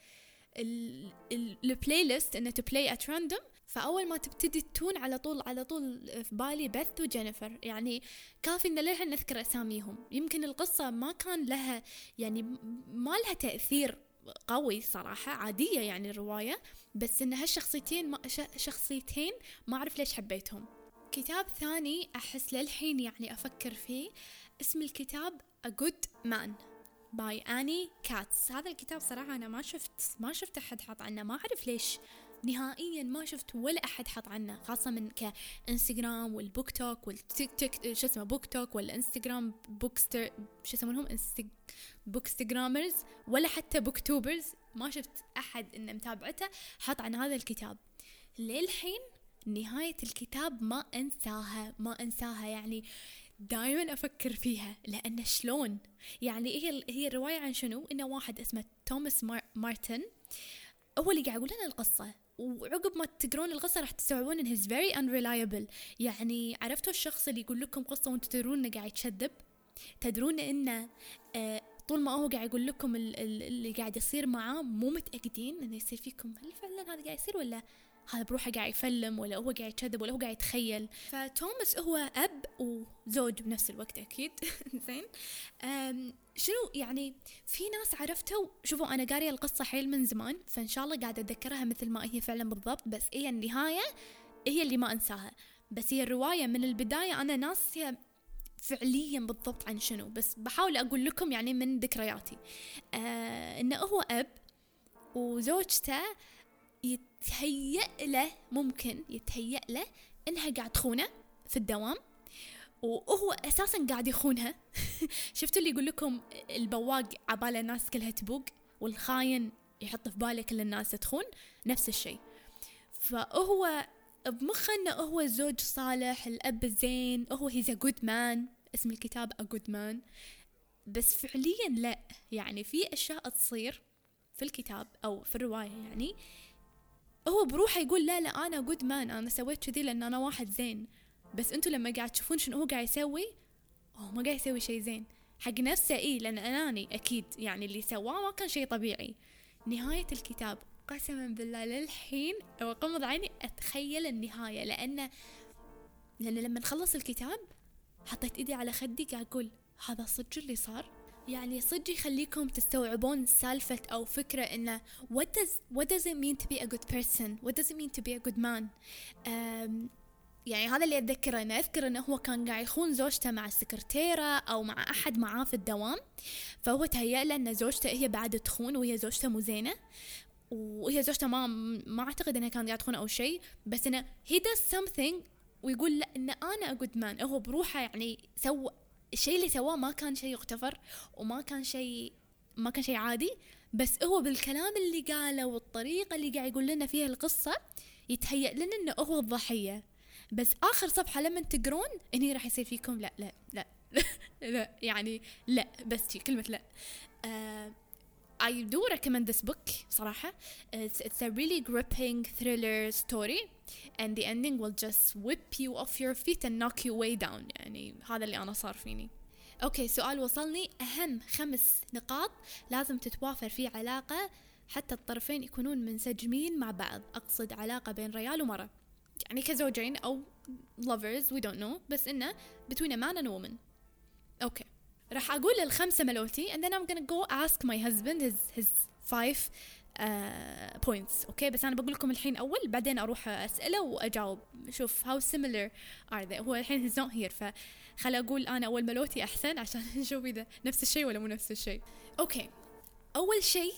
البلاي ليست إنه to play at random، فأول ما تبتدي تون على طول على طول في بالي بث وجينيفر. يعني كافي إن للحين نذكر أساميهم. يمكن القصة ما كان لها يعني ما لها تأثير قوي صراحة، عادية يعني الرواية، بس إن هالشخصيتين ما شخصيتين ما أعرف ليش حبيتهم. كتاب ثاني أحس للحين يعني أفكر فيه، اسم الكتاب A Good Man by Annie Katz. هذا الكتاب صراحة أنا ما شفت ما شفت أحد حط عنه، ما أعرف ليش نهائيا ما شفت ولا أحد حط عنه، خاصة من كإنستغرام والبوك توك والتيك توك شو اسمه بوك توك والإنستغرام بوكستر شو يسمونهم إنستغ بوكستغرامرز ولا حتى بوكتوبرز، ما شفت أحد إنه متابعته حط عن هذا الكتاب. للحين نهاية الكتاب ما أنساها ما أنساها يعني دائما أفكر فيها، لأن شلون يعني هي هي الرواية عن شنو؟ إنه واحد اسمه توماس مار مارتن هو اللي قاعد يقول لنا القصة، وعقب ما تقرون القصة راح تستوعبون إنه he's very unreliable. يعني عرفتوا الشخص اللي يقول لكم قصة وانتم تدرون إنه قاعد يكذب، تدرون إنه آه طول ما هو قاعد يقول لكم اللي قاعد يصير معاه مو متأكدين إنه يصير فيكم، هل فعلا هذا قاعد يصير ولا هذا بروحه قاعد يفلم ولا هو قاعد يكذب ولا هو قاعد يتخيل. فتوماس هو أب وزوج بنفس الوقت أكيد. زين شنو يعني في ناس عرفتوا، شوفوا أنا قارية القصة حيل من زمان، فإن شاء الله قاعدة أتذكرها مثل ما هي فعلا بالضبط، بس هي النهاية هي اللي ما أنساها. بس هي الرواية من البداية أنا ناسية فعليا بالضبط عن شنو، بس بحاول أقول لكم يعني من ذكرياتي. آه إنه هو أب وزوجته يتهيأ له ممكن يتهيأ له إنها قاعد تخونه في الدوام، وهو أساسا قاعد يخونها. شفتوا اللي يقول لكم البواق عباله الناس كلها تبوق والخاين يحط في باله كل الناس تخون، نفس الشيء. فهو بمخه إنه هو زوج صالح، الأب الزين، هو he's a good man، اسم الكتاب A Good Man، بس فعليا لا. يعني في أشياء تصير في الكتاب أو في الرواية يعني هو بروحه يقول لا لا أنا good man، أنا سويت كذي لأن أنا واحد زين، بس أنتوا لما قاعد تشوفون شنو هو قاعد يسوي، هو ما قاعد يسوي شيء زين حق نفسه، إيه لأن أناني أكيد، يعني اللي سواه ما كان شيء طبيعي. نهاية الكتاب قسما بالله للحين وقمض عيني أتخيل النهاية، لأن لأن لما نخلص الكتاب حطيت إيدي على خدي قاعد أقول هذا صدق اللي صار. يعني صدق يخليكم تستوعبون سالفة أو فكرة إنه what does what does it mean to be a good person, what does it mean to be a good man. يعني هذا اللي أتذكره، أنا أذكر إنه هو كان قاعد يخون زوجته مع السكرتيرة أو مع أحد معاه في الدوام، فهو تهيأ له إن زوجته هي بعد تخون وهي زوجته مو زينة، وهي زوجته ما ما أعتقد إنها كانت قاعد تخون أو شيء، بس إنه he does something ويقول لا إن أنا a good man. هو بروحه يعني سوى الشيء اللي سواه ما كان شيء يغتفر وما كان شيء ما كان شيء عادي، بس هو بالكلام اللي قاله والطريقة اللي قاعد يقول لنا فيها القصة يتهيأ لنا إنه هو الضحية. بس آخر صفحة لما تقرون هني راح يصير فيكم لا لا لا لا يعني لا بس شي كلمة لا. uh, I do recommend this book صراحة. It's, it's a really gripping thriller story and the ending will just whip you off your feet and knock you way down. يعني هذا اللي أنا صار فيني. أوكي سؤال وصلني، أهم خمس نقاط لازم تتوافر في علاقة حتى الطرفين يكونون منسجمين مع بعض. أقصد علاقة بين رجال ومرأة، يعني كزوجين أو lovers we don't know، بس إنه between a man and a woman. أوكي راح أقول الخمسة ملوتي and then I'm gonna go ask my husband his his five uh, points. أوكي بس أنا بقول لكم الحين أول، بعدين أروح أسأله وأجاوب. شوف how similar are they. هو الحين he's not here فخلي أقول أنا أول ملوتي أحسن عشان نشوف إذا نفس الشيء ولا مو نفس الشيء. أوكي أول شيء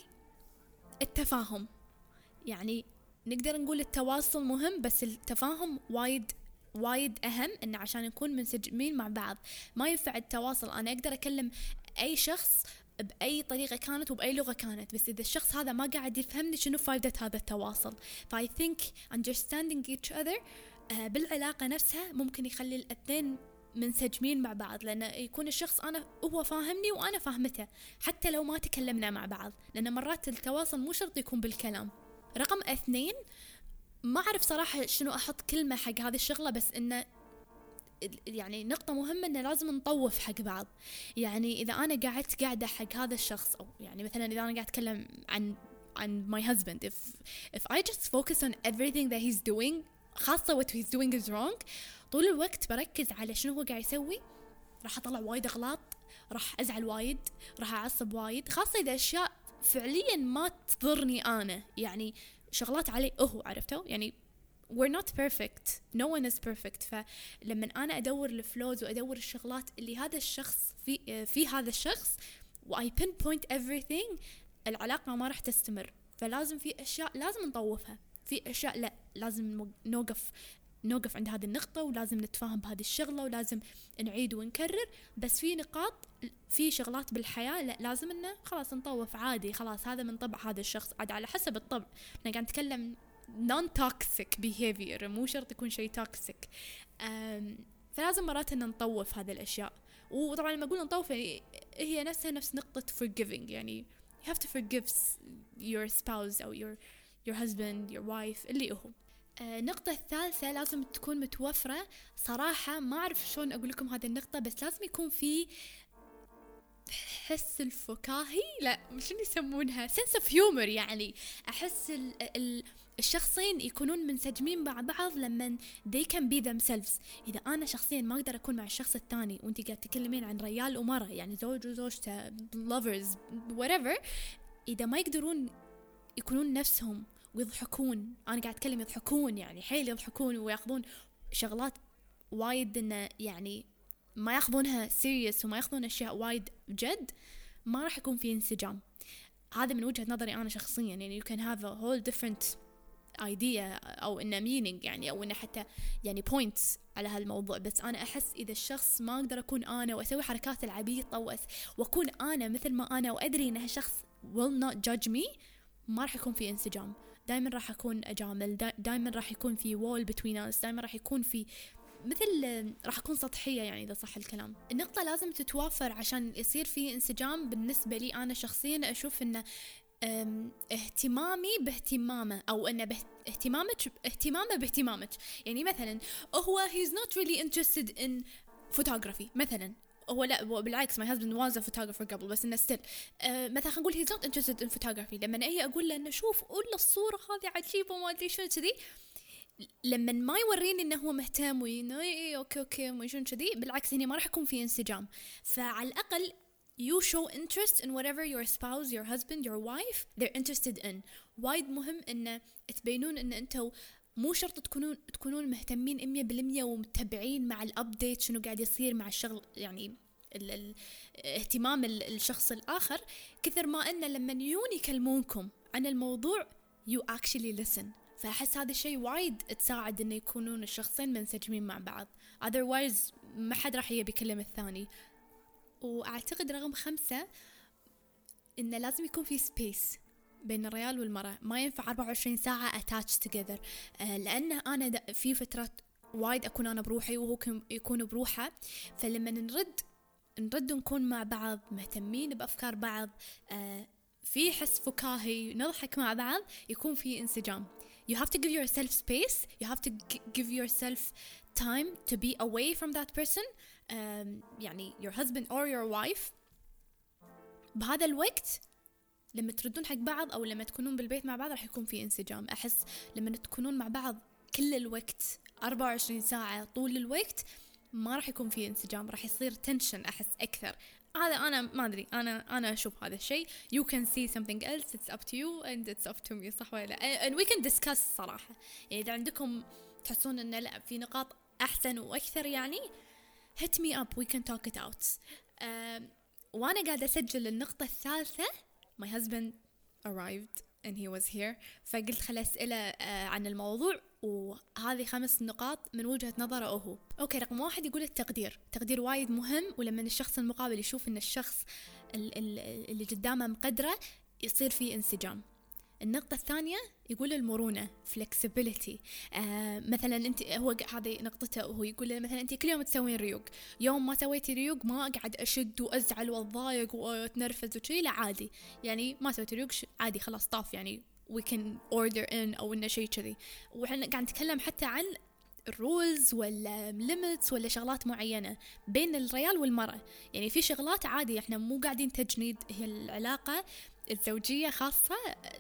التفاهم. يعني نقدر نقول التواصل مهم بس التفاهم وايد وايد أهم، إن عشان نكون منسجمين مع بعض. ما ينفع التواصل أنا أقدر أكلم أي شخص بأي طريقة كانت وبأي لغة كانت، بس إذا الشخص هذا ما قاعد يفهمني شنو فائدة هذا التواصل. فاي think understanding each other آه بالعلاقة نفسها ممكن يخلي الاثنين منسجمين مع بعض، لأن يكون الشخص أنا هو فاهمني وأنا فاهمته حتى لو ما تكلمنا مع بعض، لأن مرات التواصل مو شرط يكون بالكلام. رقم اثنين، ما أعرف صراحة شنو أحط كلمة حق هذه الشغلة، بس إنه يعني نقطة مهمة إنه لازم نطوف حق بعض. يعني إذا أنا قاعدت قاعدة حق هذا الشخص، أو يعني مثلا إذا أنا قاعد أتكلم عن عن my husband, if if I just focus on everything that he's doing، خاصة what he's doing is wrong، طول الوقت بركز على شنو هو قاعد يسوي، راح أطلع وايد أغلاط، راح أزعل وايد، راح أعصب وايد، خاصة إذا أشياء فعليا ما تضرني أنا، يعني شغلات عليه هو، عرفتوا؟ يعني we're not perfect, no one is perfect. فلما أنا أدور الفلوز وأدور الشغلات اللي هذا الشخص في في هذا الشخص و I pinpoint everything، العلاقة ما راح تستمر. فلازم في أشياء لازم نطوفها، في أشياء لا لازم نوقف نوقف عند هذه النقطة، ولازم نتفاهم بهذه الشغلة، ولازم نعيد ونكرر. بس في نقاط في شغلات بالحياة لا لازم إنه خلاص نطوف عادي، خلاص هذا من طبع هذا الشخص، عاد على حسب الطبع. أنا قاعد نتكلم non-toxic behavior، مو شرط يكون شيء toxic. فلازم مرات إن نطوف هذه الأشياء. وطبعا لما أقول نطوف يعني هي نفسها نفس نقطة forgiving، يعني you have to forgive your spouse أو your your husband your wife اللي هو. النقطة الثالثة لازم تكون متوفرة. صراحة ما أعرف شلون أقول لكم هذه النقطة، بس لازم يكون في حس الفكاهي، لا شنو يسمونها sense of humor. يعني أحس ال ال الشخصين يكونون منسجمين مع بعض لما they can be themselves. إذا أنا شخصيا ما أقدر أكون مع الشخص الثاني وأنت قاعد تكلمين عن رجال ومرأة، يعني زوج وزوجته lovers whatever، إذا ما يقدرون يكونون نفسهم ويضحكون، أنا قاعد أتكلم يضحكون يعني حيل يضحكون ويأخذون شغلات وايد إنه يعني ما يأخذونها serious وما يأخذون أشياء وايد جد، ما راح يكون في انسجام. هذا من وجهة نظري أنا شخصيا. يعني you can have a whole different idea أو إنه meaning يعني، أو إنه حتى يعني points على هالموضوع، بس أنا أحس إذا الشخص ما أقدر أكون أنا وأسوي حركات العبيطة وأكون أنا مثل ما أنا وأدري إن هالشخص will not judge me، ما راح يكون في انسجام. دائما راح أكون أجامل، دائما راح يكون في wall between us، دائما راح يكون في مثل راح أكون سطحية يعني إذا صح الكلام. النقطة لازم تتوافر عشان يصير في انسجام. بالنسبة لي أنا شخصيا أشوف إن اهتمامي باهتمامه، أو إن اهتمامك اهتمامه باهتمامك. يعني مثلا هو he's not really interested in photography مثلا، هو لا بالعكس my husband was a photographer قبل، بس إنه still أه مثلا خنقول he's not interested in photography. لما أجي أقول له إنه شوف قول الصورة هذه عجيبة وما أدري شو كذي، لما ما يوريني إنه هو مهتم وإنه إيه أوكي أوكي ويشون كذي، بالعكس هني ما راح يكون في انسجام. فعلى الأقل you show interest in whatever your spouse, your husband, your wife they're interested in. وايد مهم إن تبينون إن أنتوا مو شرط تكونون تكونون مهتمين مية بالمية ومتابعين مع الأبديت شنو قاعد يصير مع الشغل، يعني ال ال اهتمام الشخص الآخر، كثر ما إن لما يجون يكلمونكم عن الموضوع you actually listen. فأحس هذا الشيء وايد تساعد إنه يكونون الشخصين منسجمين مع بعض، otherwise ما حد راح يبي يكلم الثاني. وأعتقد رقم خمسة إنه لازم يكون في space بين الرجال والمرأة. ما ينفع أربعة وعشرين ساعة attached together، آه لأن أنا في فترات وايد أكون أنا بروحي وهو يكون بروحه. فلما نرد نرد نكون مع بعض مهتمين بأفكار بعض، آه في حس فكاهي، نضحك مع بعض، يكون في انسجام. You have to give yourself space. You have to give yourself time to be away from that person. um, يعني your husband or your wife. بهذا الوقت لما تردون حق بعض أو لما تكونون بالبيت مع بعض راح يكون في انسجام. أحس لما تكونون مع بعض كل الوقت أربعة وعشرين ساعة طول الوقت ما راح يكون في انسجام، راح يصير تنشن أحس أكثر. هذا أنا ما أدري، أنا أنا أشوف هذا الشيء. You can see something else. It's up to you and it's up to me. صح ولا لا؟ And we can discuss صراحة. يعني إذا عندكم تحسون إن لا في نقاط أحسن وأكثر يعني hit me up. We can talk it out. uh, وأنا قاعدة أسجل النقطة الثالثة my husband arrived and he was here. فقلت خل أسئلة uh, عن الموضوع، وهذه خمس نقاط من وجهة نظره هو. أوكي، رقم واحد يقول التقدير. التقدير وايد مهم، ولما الشخص المقابل يشوف إن الشخص اللي قدامه مقدره يصير فيه انسجام. النقطة الثانية يقول المرونة flexibility. آه مثلا أنت، هو هذه نقطته، وهو يقول مثلا أنت كل يوم تسوين ريوق، يوم ما سويتي ريوق ما أقعد أشد وأزعل وأضايق وأتنرفز وشي، لا عادي يعني ما سويتي ريوق عادي خلاص طاف، يعني we can order in أو إنه شيء كذي. وإحنا قاعد نتكلم حتى عن الرولز ولا limits ولا شغلات معينة بين الرجال والمرأة. يعني في شغلات عادي إحنا مو قاعدين تجنيد، هي العلاقة الزوجية خاصة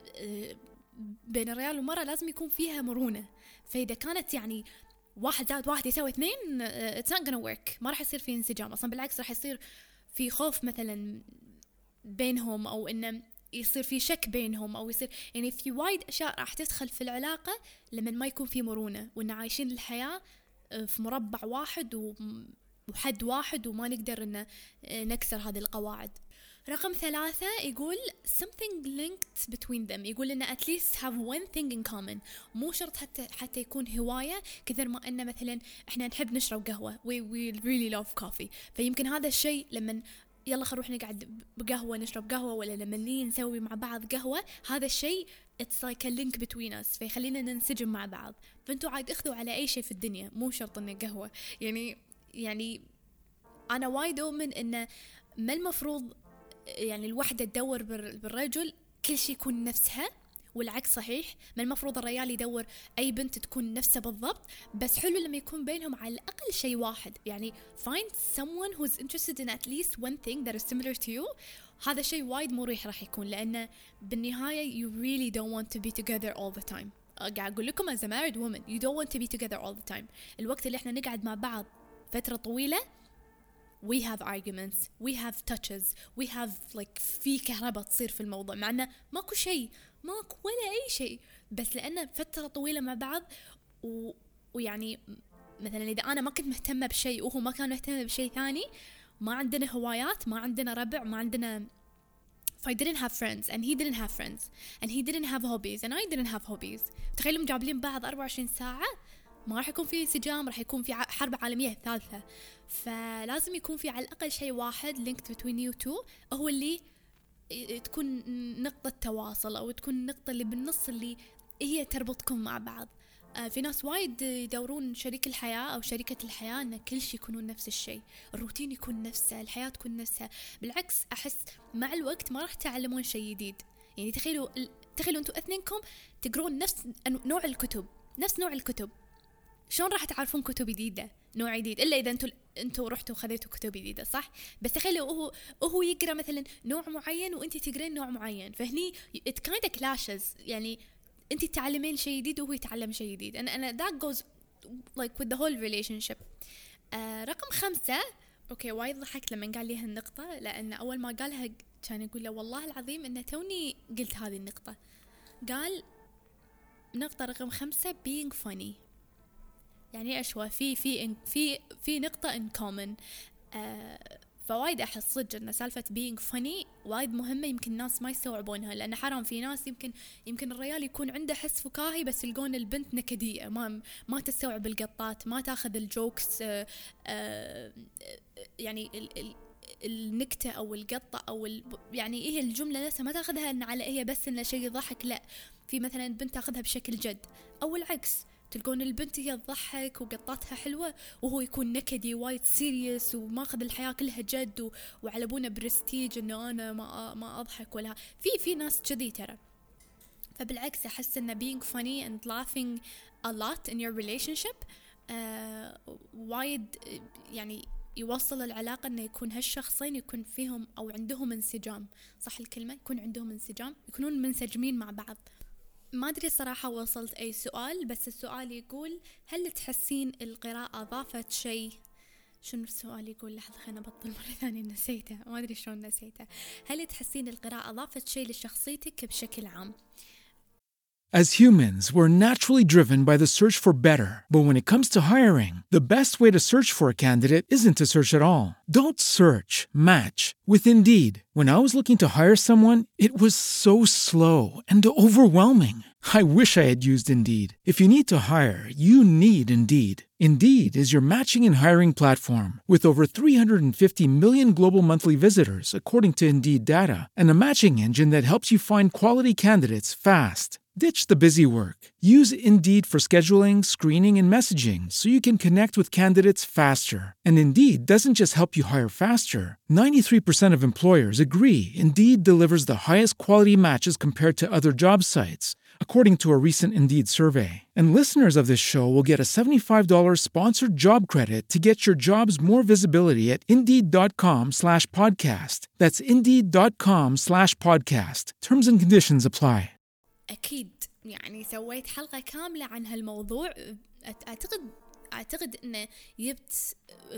بين الرجال والمرأة لازم يكون فيها مرونة. فإذا كانت يعني واحد زائد واحد يساوي اثنين it's not gonna work، ما راح يصير في انسجام أصلا، بالعكس راح يصير في خوف مثلا بينهم، أو إنه يصير في شك بينهم، أو يصير يعني في وايد أشياء راح تدخل في العلاقة لما ما يكون في مرونة، وإن عايشين الحياة في مربع واحد وحد واحد وما نقدر إن نكسر هذه القواعد. رقم ثلاثة يقول something linked between them. يقول إن at least have one thing in common. مو شرط حتى حتى يكون هواية، كثر ما إن مثلا إحنا نحب نشرب قهوة we, we really love coffee. فيمكن هذا الشيء لما يلا خلونا نروح نقعد بقهوة نشرب قهوة، ولا لما نيجي نسوي مع بعض قهوة، هذا الشيء it's like a link between us، فيخلينا ننسجم مع بعض. فأنتوا عاد اخذوا على أي شيء في الدنيا، مو شرط إنه قهوة. يعني يعني أنا وايد أؤمن إنه ما المفروض يعني الوحدة تدور بالرجل كل شيء يكون نفسها، والعكس صحيح. ما المفروض الرجال يدور أي بنت تكون نفسها بالضبط، بس حلو لما يكون بينهم على الأقل شيء واحد. يعني find someone who's interested in at least one thing that is similar to you. هذا الشيء وايد مريح راح يكون، لأنه بالنهاية you really don't want to be together all the time. قاعد أقول لكم as a married woman you don't want to be together all the time. الوقت اللي إحنا نقعد مع بعض فترة طويلة we have arguments, we have touches, we have like في كهرباء تصير في الموضوع، مع أنه ماكو شيء، ماكو ولا أي شيء، بس لأنه فترة طويلة مع بعض و... ويعني مثلا إذا أنا ما كنت مهتمة بشيء وهو ما كان مهتم بشيء ثاني، ما عندنا هوايات، ما عندنا ربع، ما عندنا if I didn't have friends and he didn't have friends and he didn't have hobbies and I didn't have hobbies، تخيلوا مجابلين بعض أربعة وعشرين ساعة، ما راح يكون في انسجام، راح يكون في حرب عالمية ثالثة. فلازم يكون في على الأقل شيء واحد linked between you two، هو اللي تكون نقطة تواصل، أو تكون النقطة اللي بالنص اللي هي تربطكم مع بعض. في ناس وايد يدورون شريك الحياة أو شريكة الحياة أن كل شيء يكونون نفس الشيء، الروتين يكون نفسه، الحياة تكون نفسها. بالعكس أحس مع الوقت ما راح تعلمون شيء جديد. يعني تخيلوا تخيلوا أنتوا اثنينكم تقرون نفس نوع الكتب، نفس نوع الكتب، شلون راح تعرفون كتب جديدة، نوع جديد، إلا إذا أنتوا أنتوا رحتوا وخذيتوا كتب جديدة، صح؟ بس تخيلوا هو هو يقرأ مثلا نوع معين وأنتي تقرين نوع معين، فهني it kind of clashes. يعني أنتي تعلمين شيء جديد وهو يتعلم شيء جديد. أنا أنا that goes like with the whole relationship. آه رقم خمسة، أوكي وايد ضحكت لما قال لي هالنقطة، لأن أول ما قالها كان يقول له والله العظيم إن توني قلت هذه النقطة. قال نقطة رقم خمسة being funny. يعني أشوى في في في في نقطة in common. آه فوايد أحس صدق إن سالفة being funny وايد مهمة، يمكن الناس ما يستوعبونها، لأن حرام في ناس يمكن يمكن الرجال يكون عنده حس فكاهي بس يلقون البنت نكدية، ما ما تستوعب القطات، ما تاخذ الجوكس. آه آه يعني ال ال النكتة أو القطة أو ال يعني إيه الجملة نفسها ما تاخذها إن على هي بس إن شيء يضحك، لا، في مثلا بنت تاخذها بشكل جد، أو العكس تلقون البنت هي تضحك وقطاتها حلوة وهو يكون نكدي وايد سيريس وماخذ الحياة كلها جد و... وعلى بونا برستيج انه انا ما ما اضحك ولا في في ناس كذي ترى. فبالعكس احس ان being funny and laughing a lot in your relationship آه وايد يعني يوصل العلاقة انه يكون هالشخصين يكون فيهم او عندهم انسجام، صح الكلمة، يكون عندهم انسجام، يكونون منسجمين مع بعض. ما أدري صراحة وصلت أي سؤال، بس السؤال يقول هل تحسين القراءة ضافت شيء؟ شنو السؤال يقول؟ لحظة خلينا نبطل مرة ثانية، نسيته ما أدري شلون نسيته. هل تحسين القراءة ضافت شيء لشخصيتك بشكل عام؟ As humans, we're naturally driven by the search for better. But when it comes to hiring, the best way to search for a candidate isn't to search at all. Don't search, match with Indeed. When I was looking to hire someone, it was so slow and overwhelming. I wish I had used Indeed. If you need to hire, you need Indeed. Indeed is your matching and hiring platform with over three hundred fifty million global monthly visitors, according to Indeed data, and a matching engine that helps you find quality candidates fast. Ditch the busy work. Use Indeed for scheduling, screening, and messaging so you can connect with candidates faster. And Indeed doesn't just help you hire faster. ninety-three percent of employers agree Indeed delivers the highest quality matches compared to other job sites, according to a recent Indeed survey. And listeners of this show will get a seventy-five dollars sponsored job credit to get your jobs more visibility at Indeed.com slash podcast. That's Indeed.com slash podcast. Terms and conditions apply. أكيد يعني سويت حلقة كاملة عن هالموضوع. أعتقد أعتقد إنه جبت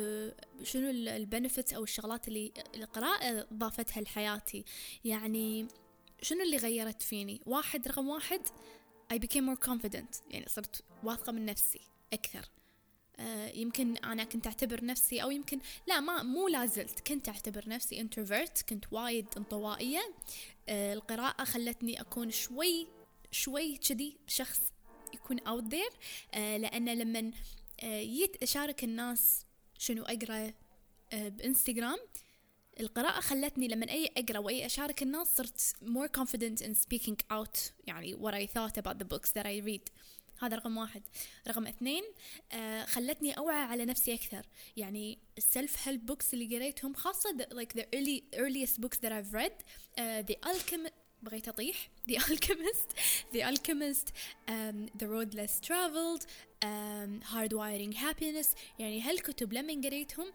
شنو البنفيتس أو الشغلات اللي القراءة ضافتها لحياتي. يعني شنو اللي غيرت فيني؟ واحد رقم واحد I became more confident، يعني صرت واثقة من نفسي أكثر. آه يمكن أنا كنت أعتبر نفسي أو يمكن لا ما مو لازلت كنت أعتبر نفسي introvert، كنت وايد انطوائية. آه القراءة خلتني أكون شوي شوي كذي شخص يكون out there. آه لأن لما آه جيت أشارك الناس شنو أقرأ آه بإنستغرام، القراءة خلتني لما أي أقرأ وأي أشارك الناس صرت more confident in speaking out يعني what I thought about the books that I read. هذا رقم واحد. رقم اثنين آه خلتني أوعى على نفسي أكثر. يعني self help books اللي قريتهم خاصة the, like the early earliest books that I've read uh, The Alchemist بغيت أطيح The Alchemist The Alchemist um, The Road Less Traveled um, Hardwiring Happiness. يعني هالكتب لما قريتهم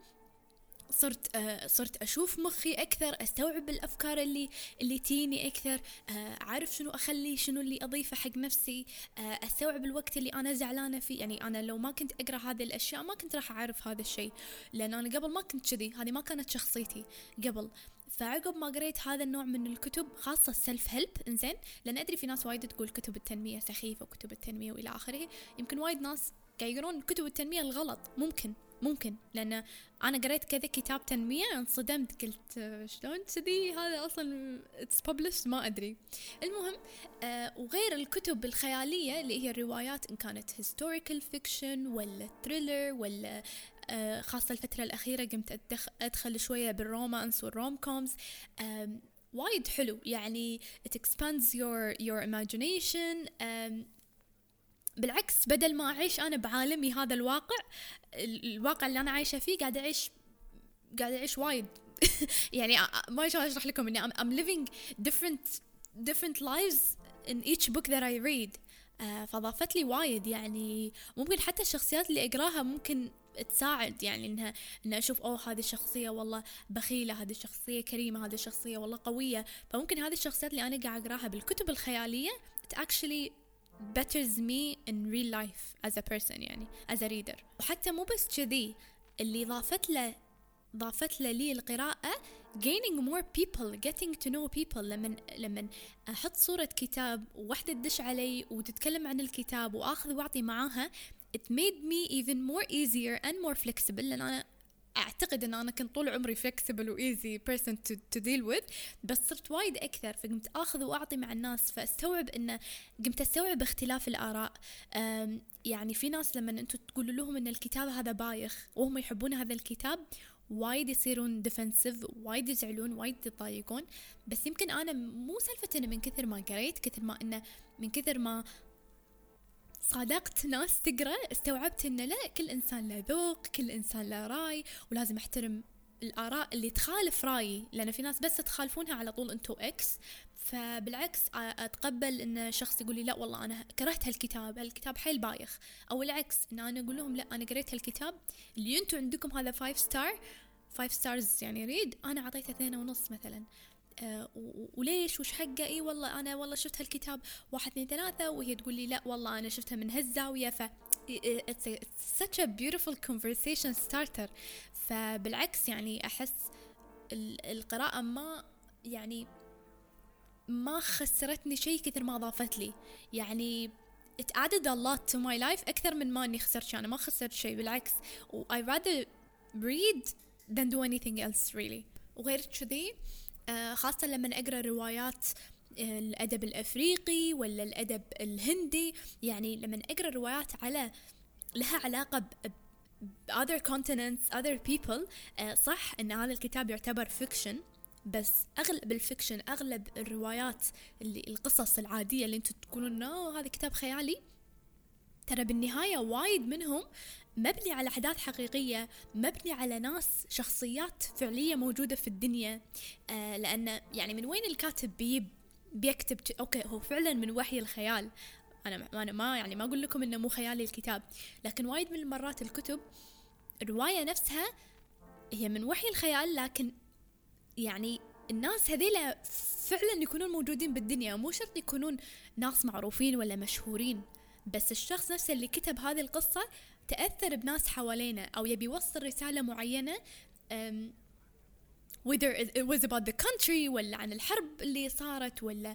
صرت آه صرت أشوف مخي أكثر، أستوعب الأفكار اللي اللي تيني أكثر، آه أعرف شنو أخلي شنو اللي أضيفه حق نفسي، آه أستوعب الوقت اللي أنا زعلانة فيه. يعني أنا لو ما كنت أقرأ هذه الأشياء ما كنت راح أعرف هذا الشيء، لأن أنا قبل ما كنت كذي، هذه ما كانت شخصيتي قبل. فعقب ما قريت هذا النوع من الكتب خاصة السلف هيلب إنزين، لأن أدري في ناس وايد تقول كتب التنمية سخيفة وكتب التنمية وإلى آخره. يمكن وايد ناس قاعد يقرون كتب التنمية الغلط، ممكن ممكن لأن أنا قريت كذا كتاب تنمية انصدمت، قلت شلون كذي هذا أصلا it's published ما أدري. المهم آه وغير الكتب الخيالية اللي هي الروايات إن كانت historical fiction ولا thriller ولا آه خاصة الفترة الأخيرة قمت أدخ أدخل شوية بالرومانس والروم كومز. آه وايد حلو يعني it expands your your imagination. آه بالعكس بدل ما أعيش أنا بعالمي هذا الواقع الواقع اللي أنا عايشة فيه قاعد أعيش قاعد أعيش وايد يعني ما أشوف أشرح لكم إني I'm, I'm living different different lives in each book that I read. آه فضافت لي وايد. يعني ممكن حتى الشخصيات اللي أقراها ممكن تساعد، يعني إنها إن أشوف أوه هذه الشخصية والله بخيلة، هذه الشخصية كريمة، هذه الشخصية والله قوية. فممكن هذه الشخصيات اللي أنا قاعد أقراها بالكتب الخيالية it actually betters me in real life as a person يعني as a reader. وحتى مو بس كذي، اللي ضافت له ضافت له لي القراءة gaining more people getting to know people. لمن لمن أحط صورة كتاب وواحدة تدش علي وتتكلم عن الكتاب وآخذ واعطي معاها it made me even more easier and more flexible. لأن أنا أعتقد أن أنا كنت طول عمري flexible و easy person to, to deal with، بس صرت وايد أكثر. فقمت أخذ وأعطي مع الناس، فاستوعب أن قمت أستوعب اختلاف الآراء. يعني في ناس لما أنتوا تقولوا لهم أن الكتاب هذا بايخ وهم يحبون هذا الكتاب وايد يصيرون defensive، وايد يزعلون، وايد يتضايقون. بس يمكن أنا مو سالفة أنه من كثر ما قريت، كثر ما أنه من كثر ما صادقت ناس تقرأ استوعبت إن لا، كل إنسان له ذوق، كل إنسان له رأي، ولازم أحترم الآراء اللي تخالف رأيي، لأن في ناس بس تخالفونها على طول أنتو إكس. فبالعكس أتقبل إن شخص يقول لي لا والله أنا كرهت هالكتاب، هالكتاب حيل بايخ، أو العكس إن أنا أقول لهم لا أنا قريت هالكتاب اللي أنتو عندكم هذا فايف ستار فايف ستارز يعني ريد، أنا عطيته اثنين ونص مثلا. أه وليش وش حقه؟ إيه والله أنا والله شفت هالكتاب واحد اثنين ثلاثة، وهي تقول لي لا والله أنا شفتها من هالزاوية. ف it's, a, it's such a beautiful conversation starter. فبالعكس يعني أحس القراءة ما يعني ما خسرتني شيء كثر ما ضافت لي، يعني it added a lot to my life أكثر من ما أني خسرت شيء. أنا ما خسرت شيء، بالعكس I rather read than do anything else really. وغير كذي آه خاصة لما أقرأ روايات الأدب الأفريقي ولا الأدب الهندي، يعني لما أقرأ روايات على لها علاقة ب other continents other people، آه صح إن هذا الكتاب يعتبر fiction، بس أغلب الفيكشن أغلب الروايات اللي القصص العادية اللي أنتوا تقولون هذا كتاب خيالي، ترى بالنهاية وايد منهم مبني على أحداث حقيقية، مبني على ناس شخصيات فعلية موجودة في الدنيا. آه لأن يعني من وين الكاتب بي بيكتب أوكي هو فعلا من وحي الخيال. أنا أنا ما يعني ما أقول لكم إنه مو خيالي الكتاب، لكن وايد من المرات الكتب الرواية نفسها هي من وحي الخيال، لكن يعني الناس هذيلا فعلا يكونون موجودين بالدنيا، مو شرط يكونون ناس معروفين ولا مشهورين، بس الشخص نفسه اللي كتب هذه القصة تأثر بناس حوالينا أو يبي يوصل رسالة معينة um, whether it was about the country ولا عن الحرب اللي صارت ولا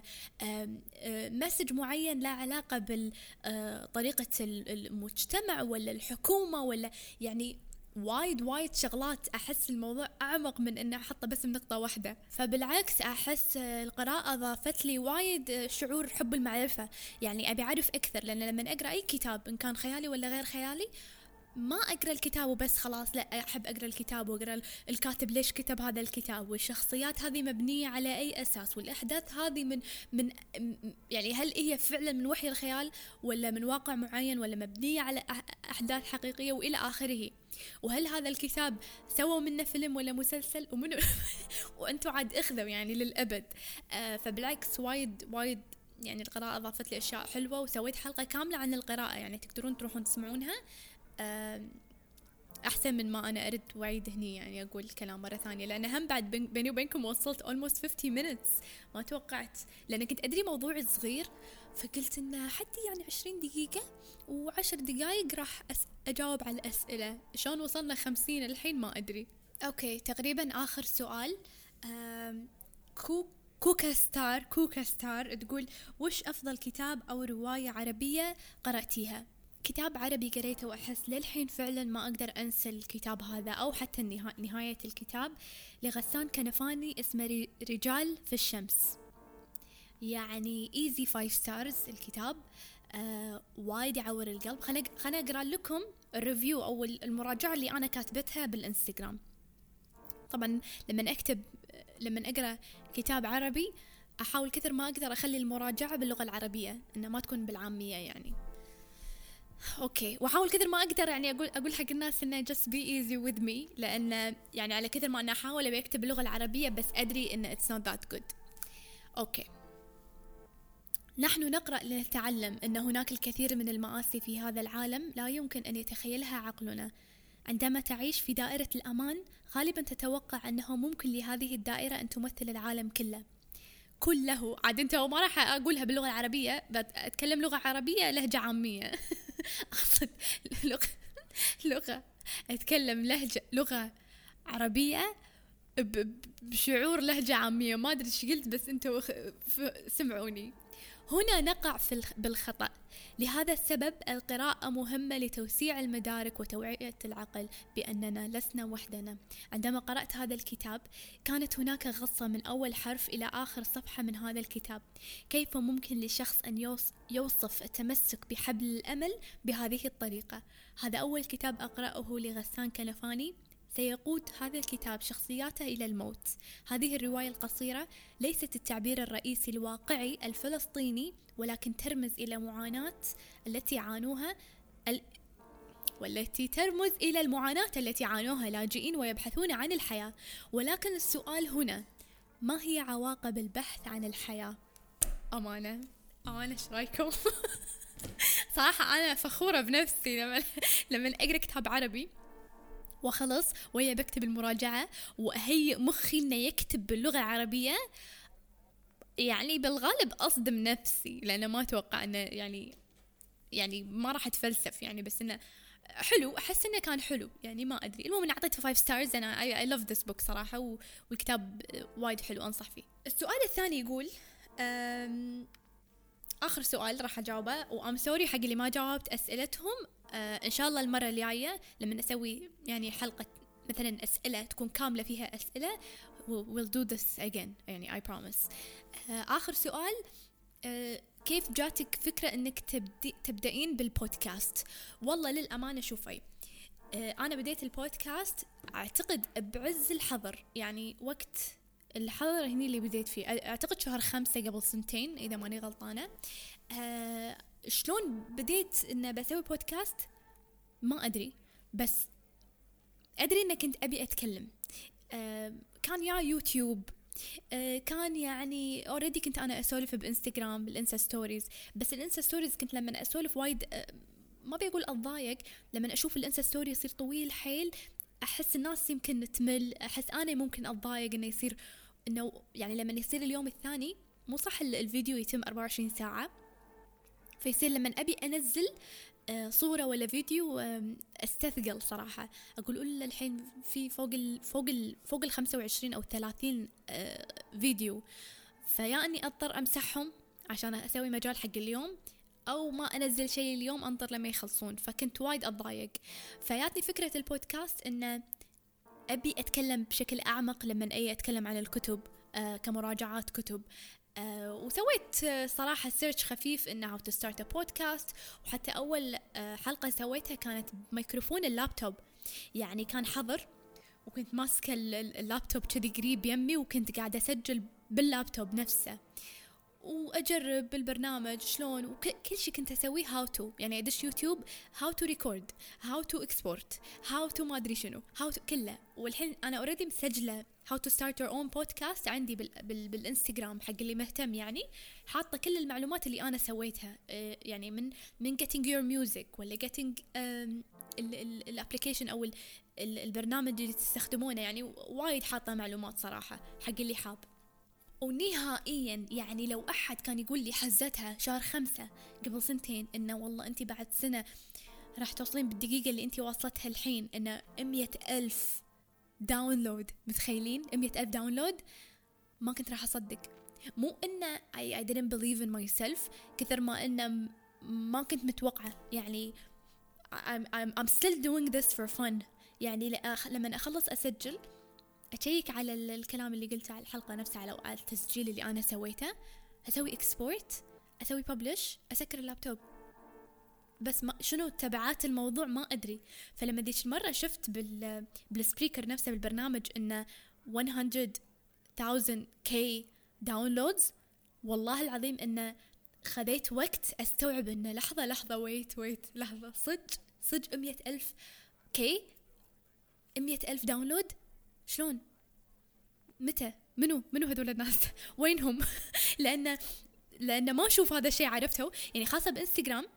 مسج um, uh, معين لا علاقة بطريقة uh, المجتمع ولا الحكومة ولا يعني وايد وايد شغلات. أحس الموضوع أعمق من أن أحطه بس بنقطة واحدة. فبالعكس أحس القراءة ضافت لي وايد شعور حب المعرفة، يعني أبي أعرف أكثر، لأن لما أقرأ أي كتاب إن كان خيالي ولا غير خيالي ما أقرأ الكتاب وبس خلاص، لا أحب أقرأ الكتاب وأقرأ الكاتب ليش كتب هذا الكتاب، والشخصيات هذه مبنية على أي أساس، والأحداث هذه من من يعني هل هي فعلا من وحي الخيال ولا من واقع معين ولا مبنية على أحداث حقيقية وإلى آخره، وهل هذا الكتاب سووا منه فيلم ولا مسلسل ومنه وأنتوا عاد اخذوا يعني للأبد. آه فبالعكس وايد وايد يعني القراءة أضافت لي أشياء حلوة، وسويت حلقة كاملة عن القراءة يعني تقدرون تروحون تسمعونها أحسن من ما أنا أرد وعيد هني يعني أقول الكلام مرة ثانية، لأن هم بعد بيني وبينكم وصلت almost fifty minutes ما توقعت، لأن كنت أدري موضوع صغير فقلت إنه حدي يعني عشرين دقيقة وعشر دقايق راح أس- أجاوب على الأسئلة. شلون وصلنا خمسين الحين ما أدري. أوكي تقريبا آخر سؤال. كو كوكا ستار كوكا ستار تقول وش أفضل كتاب أو رواية عربية قرأتيها؟ كتاب عربي قريته وأحس للحين فعلا ما أقدر أنسى الكتاب هذا أو حتى النها... نهاية الكتاب لغسان كنفاني، اسمه رجال في الشمس، يعني easy five stars الكتاب. آه وايد يعور القلب. خلنا خلنا أقرأ لكم الريفيو أو المراجعة اللي أنا كاتبتها بالإنستغرام. طبعا لما أكتب لما أقرأ كتاب عربي أحاول كثر ما أقدر أخلي المراجعة باللغة العربية إنها ما تكون بالعامية يعني. اوكي واحاول كثر ما اقدر يعني اقول اقول حق الناس انه just be easy with me، لان يعني على كثر ما انا احاول ابي اكتب باللغه العربيه بس ادري ان it's not that good. اوكي نحن نقرأ لنتعلم ان هناك الكثير من المآسي في هذا العالم لا يمكن ان يتخيلها عقلنا. عندما تعيش في دائرة الأمان غالبا تتوقع أنه ممكن لهذه الدائرة أن تمثل العالم كله كله عاد انت وما راح اقولها باللغه العربيه، بتكلم لغه عربيه لهجه عاميه اقصد لغه لغه اتكلم لهجه لغه عربيه بشعور لهجه عاميه، ما ادري ايش قلت بس انتوا سمعوني. هنا نقع في بالخطأ. لهذا السبب القراءة مهمة لتوسيع المدارك وتوعية العقل بأننا لسنا وحدنا. عندما قرأت هذا الكتاب كانت هناك غصة من أول حرف إلى آخر صفحة من هذا الكتاب. كيف ممكن لشخص أن يوصف التمسك بحبل الأمل بهذه الطريقة؟ هذا أول كتاب أقرأه لغسان كنفاني سيقود هذا الكتاب شخصياته إلى الموت. هذه الرواية القصيرة ليست التعبير الرئيسي الواقعي الفلسطيني، ولكن ترمز إلى معاناة التي عانوها ال... والتي ترمز إلى المعاناة التي عانوها لاجئين ويبحثون عن الحياة. ولكن السؤال هنا، ما هي عواقب البحث عن الحياة؟ أمانة أمانة إيش رأيكم؟ صراحة أنا فخورة بنفسي لما لما أقرأ كتاب عربي وخلص ويا بكتب المراجعة وأهيئ مخي إنه يكتب باللغة العربية، يعني بالغالب أصدم نفسي، لأنه ما أتوقع إنه يعني يعني ما راح أتفلسف يعني، بس إنه حلو، أحس إنه كان حلو يعني، ما أدري. المهم أنا أعطيته five stars. أنا I, I love this book صراحة، والكتاب وايد حلو أنصح فيه. السؤال الثاني يقول آخر سؤال راح أجاوبه، وأم سوري حق اللي ما جاوبت أسئلتهم. آه إن شاء الله المرة الجاية لما نسوي يعني حلقة مثلا أسئلة تكون كاملة فيها أسئلة we'll do this again يعني I promise. آه آخر سؤال، آه كيف جاتك فكرة أنك تبدي تبدأين بالبودكاست؟ والله للأمانة شوفي، آه أنا بديت البودكاست أعتقد بعز الحظر، يعني وقت الحظر هني اللي بديت فيه، أعتقد شهر خمسة قبل سنتين إذا ماني غلطانة. آه شلون بديت إن بسوي بودكاست ما أدري، بس أدري إن كنت أبي أتكلم. آه كان يا يوتيوب، آه كان يعني already كنت أنا أسولف بإنستغرام بالإنستا ستوريز، بس الإنستا ستوريز كنت لما أسولف وايد آه ما بيقول أتضايق، لما أشوف الإنستا ستوري يصير طويل حيل أحس الناس يمكن تمل، أحس أنا ممكن أتضايق إنه يصير إنه يعني لما يصير اليوم الثاني مو صح الفيديو يتم أربعة وعشرين ساعة، فيصير لما أبي أنزل صورة ولا فيديو أستثقل صراحة، أقول أولا الحين في فوق ال فوق ال فوق ال خمسة وعشرين أو ثلاثين فيديو، فيا أني أضطر أمسحهم عشان أسوي مجال حق اليوم، أو ما أنزل شيء اليوم أنطر لما يخلصون، فكنت وايد أتضايق. فياتني فكرة البودكاست إن أبي أتكلم بشكل أعمق لما أي أتكلم عن الكتب آه كمراجعات كتب. آه وسويت آه صراحة سيرش خفيف إنه how to start a podcast، وحتى أول آه حلقة سويتها كانت بميكروفون اللابتوب، يعني كان حظر وكنت ماسكة اللابتوب كذي قريب يمي، وكنت قاعدة أسجل باللابتوب نفسه وأجرب بالبرنامج شلون، وكل شيء كنت أسويه how to، يعني أدش يوتيوب how to record how to export how to ما أدري شنو how to كله. والحين أنا already مسجلة how to start your own podcast عندي بال بال بالإنستغرام حق اللي مهتم، يعني حاطة كل المعلومات اللي أنا سويتها، يعني من من getting your music ولا getting الابليكيشن أو ال البرنامج اللي تستخدمونه، يعني وايد حاطة معلومات صراحة حق اللي حاب. ونهائيا يعني لو أحد كان يقول لي حزتها شهر خمسة قبل سنتين إنه والله أنت بعد سنة راح توصلين بالدقيقة اللي أنت واصلتها الحين إنه مية ألف داونلود، متخيلين مية ألف داونلود؟ ما كنت راح أصدق. مو إنه I, I didn't believe in myself كثر ما إنه ما كنت متوقعة، يعني I'm, I'm, I'm still doing this for fun. يعني لما أخلص أسجل أشيك على الكلام اللي قلته على الحلقة نفسها، على التسجيل اللي أنا سويته، أسوي إكسبورت، أسوي ببلش، أسكر اللابتوب، بس ما شنو تبعات الموضوع ما أدري. فلما ديش مرة شفت بال بالسبيكر نفسه بالبرنامج إنه مية ألف كي داونلودز، والله العظيم إنه خذيت وقت أستوعب إنه لحظة لحظة ويت ويت لحظة صدق صدق مية ألف كي مية ألف داونلود، شلون؟ متى؟ منو منو هذول الناس؟ وينهم؟ لأن لأن ما أشوف هذا الشيء، عرفته يعني خاصة بإنستغرام.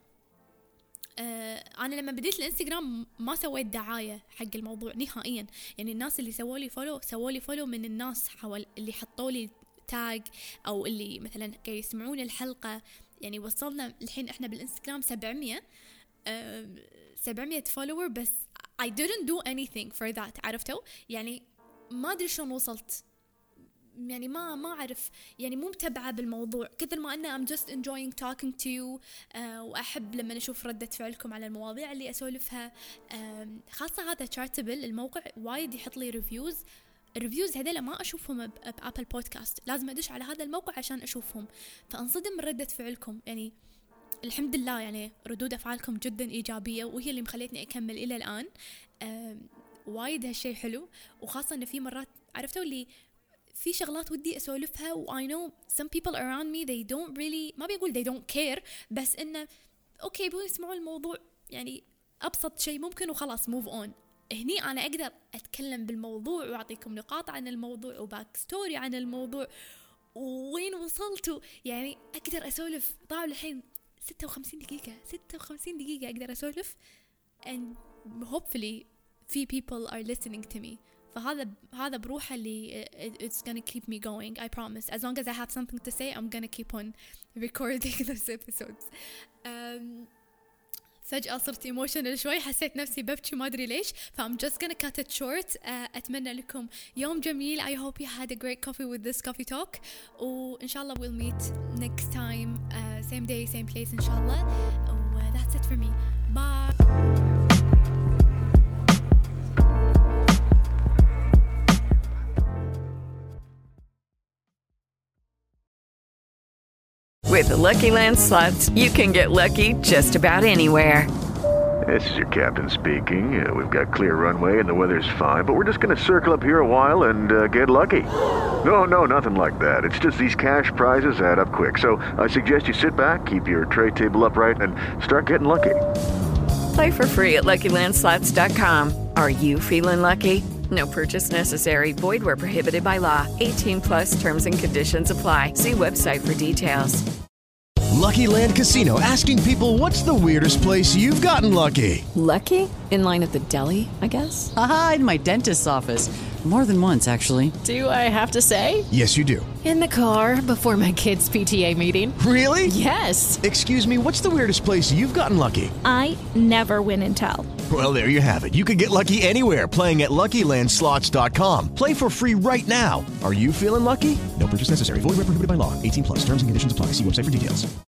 آه أنا لما بديت الإنستغرام ما سويت دعاية حق الموضوع نهائيا، يعني الناس اللي سووا لي فولو سووا لي فولو من الناس حوال اللي حطوا لي تاج أو اللي مثلا كي يسمعون الحلقة. يعني وصلنا الحين إحنا بالإنستغرام سبعمية آه سبعمية فولوور، بس I didn't do anything for that، عرفتوا؟ يعني ما أدري شلون وصلت، يعني ما ما أعرف، يعني مو متابعة بالموضوع كثر ما أنا I'm just enjoying talking to you. آه وأحب لما نشوف ردة فعلكم على المواضيع اللي أسولفها. آه خاصة هذا Chartable الموقع وايد يحط لي ريفيوز، الريفيوز هذيلا ما أشوفهم بأبل بودكاست، لازم أدش على هذا الموقع عشان أشوفهم، فأنصدم من ردة فعلكم. يعني الحمد لله يعني ردود أفعالكم جدا إيجابية، وهي اللي مخليتني أكمل إلى الآن. آه وايد هالشي حلو، وخاصة إن في مرات عرفتوا اللي في شغلات ودي أسولفها و I know some people around me they don't really ما بيقول they don't care، بس إنه أوكي بو يسمعوا الموضوع يعني أبسط شيء ممكن وخلاص move on. هني أنا أقدر أتكلم بالموضوع وأعطيكم نقاط عن الموضوع وباك ستوري عن الموضوع وين وصلتوا، يعني أقدر أسولف. طبعا الحين ستة وخمسين دقيقة ستة وخمسين دقيقة أقدر أسولف and hopefully few people are listening to me. فهذا هذا بروحه اللي it's gonna keep me going. I promise. As long as I have something to say, I'm gonna keep on recording those episodes. Um, فجأة صرت emotional شوي، حسيت نفسي ببكي ما أدري ليش. ف I'm just gonna cut it short. uh, أتمنى لكم يوم جميل. I hope you had a great coffee with this coffee talk. وإن شاء الله we'll meet next time, uh, same day same place إن شاء الله. و that's it for me. Bye. With the Lucky Land Slots, you can get lucky just about anywhere. This is your captain speaking. Uh, we've got clear runway and the weather's fine, but we're just going to circle up here a while and uh, get lucky. No, no, nothing like that. It's just these cash prizes add up quick. So I suggest you sit back, keep your tray table upright, and start getting lucky. Play for free at Lucky Land Slots dot com. Are you feeling lucky? No purchase necessary. Void where prohibited by law. eighteen plus terms and conditions apply. See website for details. Lucky Land Casino, asking people, what's the weirdest place you've gotten lucky? Lucky? In line at the deli, I guess? Aha, in my dentist's office. More than once, actually. Do I have to say? Yes, you do. In the car before my kids' P T A meeting. Really? Yes. Excuse me, what's the weirdest place you've gotten lucky? I never win and tell. Well, there you have it. You can get lucky anywhere, playing at Lucky Land Slots dot com. Play for free right now. Are you feeling lucky? No purchase necessary. Void where prohibited by law. eighteen plus. Terms and conditions apply. See website for details.